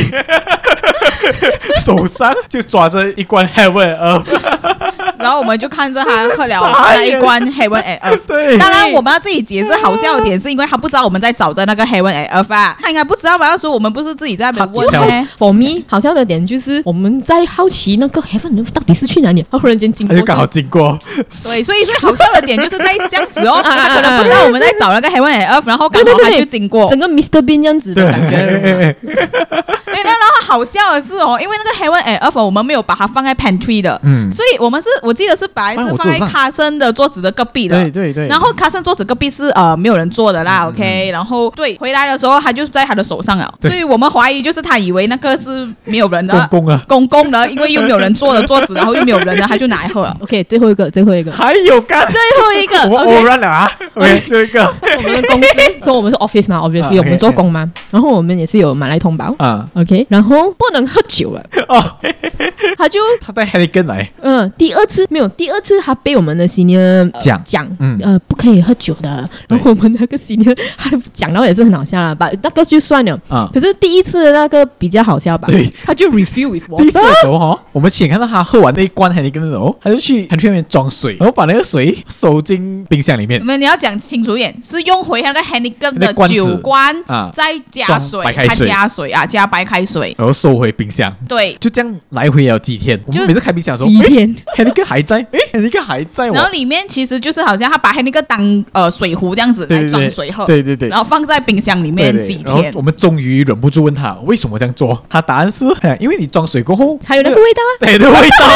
手上就抓着一罐 Heaven and Earth， 然後我們就看着他喝了那一罐 Heaven and Earth。對，當然我們要自己解釋好笑的點，是因為他不知道我們在找着那個 Heaven and Earth 啊，他應該不知道吧？那時候我們不是自己在那邊問嗎 ？For me， 好笑的點就是我們在好奇那個 Heaven and Earth 到底是去哪裡，他忽然間經過， 他就剛好經過。 對，所以好笑的點就是在這樣子哦，他可能不知道我們在找那個 Heaven and Earth， 然後剛好他就經過， 整個 Mr. Bean 這樣子的感覺。 對，然後好笑的是哦，因為那個 Heaven and Earth 我們沒有把它放在 pantry 的，所以我記得是本來是放在Carson的桌子的隔壁的， 对。 然後Carson桌子隔壁是沒有人坐的啦，OK， 然後对，回來的時候他就在他的手上了，所以我們懷疑就是他以為那個是沒有人的公共的，因為又沒有人坐的桌子，然後又沒有人的，他就拿來喝了。 OK， 最後一個， 還有干， 最後一個， 我忘了啊。OK， 最後一個， 我們的公司說我們是 office 嘛 ，obviously 我們做工嘛，然後我們也是有買來通包，OK， 然後不能喝酒了，他帶 Heineken 來， 第二次他被我們的 senior 講，不可以喝酒的，然後我們那個 senior 他講到也是很好笑了，把那個就算了，可是第一次的那個比較好笑吧，他就 refill with water。 第一次的時候我們親眼看到他喝完那一罐 Heineken 的時候，他就去 pantry 裡面裝水，然後把那個水收進冰箱裡面。 你要講清楚一點，是用回那個 Heineken 的酒罐，再加水，加白開水， 然後收回冰箱。 對， 就這樣來回了幾天。我們每次開冰箱的時候， 幾天 Heineken 還在，Heineken 還在。 然後裡面其實就是好像他把 Heineken 當水壺這樣子來裝水喝， 對， 然後放在冰箱裡面幾天。然後我們終於忍不住問他為什麼這樣做，他答案是因為你裝水過後還有那個味道啊， 對的味道。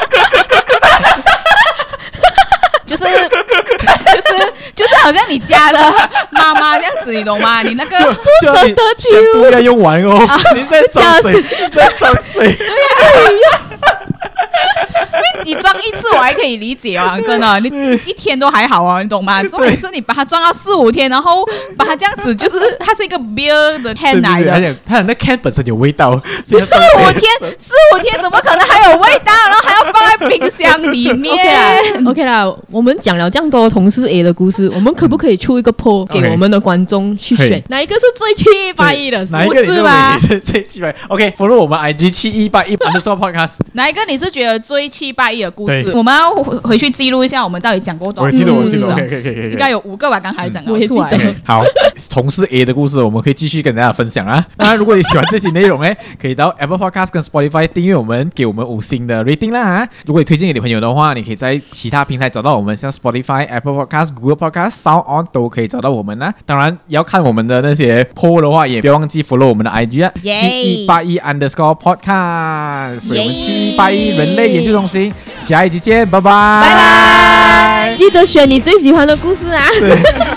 就是好像你家的媽媽這樣子，你懂嗎？你那個不捨得丟， 不要用完哦，你在裝水， 你裝一次我還可以理解哦，真的，你一天都還好哦，你懂嗎？重點是你把它裝到4-5天，然後把它這樣子，就是它是一個 beer 的 can 來的， 它的那 can 本身有味道 ，4-5天怎麼可能還有味道？然後還要放在冰箱裡面。 OK 啦，我們講了這樣多同事 A 的故事，我們可不可以出一個 poll 給我們的觀眾去選，哪一個是最781的？ 哪一個是吧？最781 ？OK，follow 我們 IG 7181_podcast。 哪一個你是覺得最781的故事？我們要回去記錄一下，我們到底講過多少？ 我記得，OK，應該有5個吧？剛才講的， 我也記得。 好，同事 A 的故事，我們可以繼續跟大家分享啊。當然，如果你喜歡這些內容呢，可以到 Apple Podcast 跟 Spotify 訂閱我們，給我們5星的 rating 啦。如果你推薦給你朋友的話，你可以在其他平台找到我們，像 Spotify、Apple Podcast、Google Podcast、Sound On 都可以找到我們啦。當然，要看我們的那些 poll 的話，也不要忘記 follow 我們的 IG 啊，7181_podcast。所以我們7181人類研究中心，下一集見，拜拜， 記得選你最喜歡的故事啊。 對。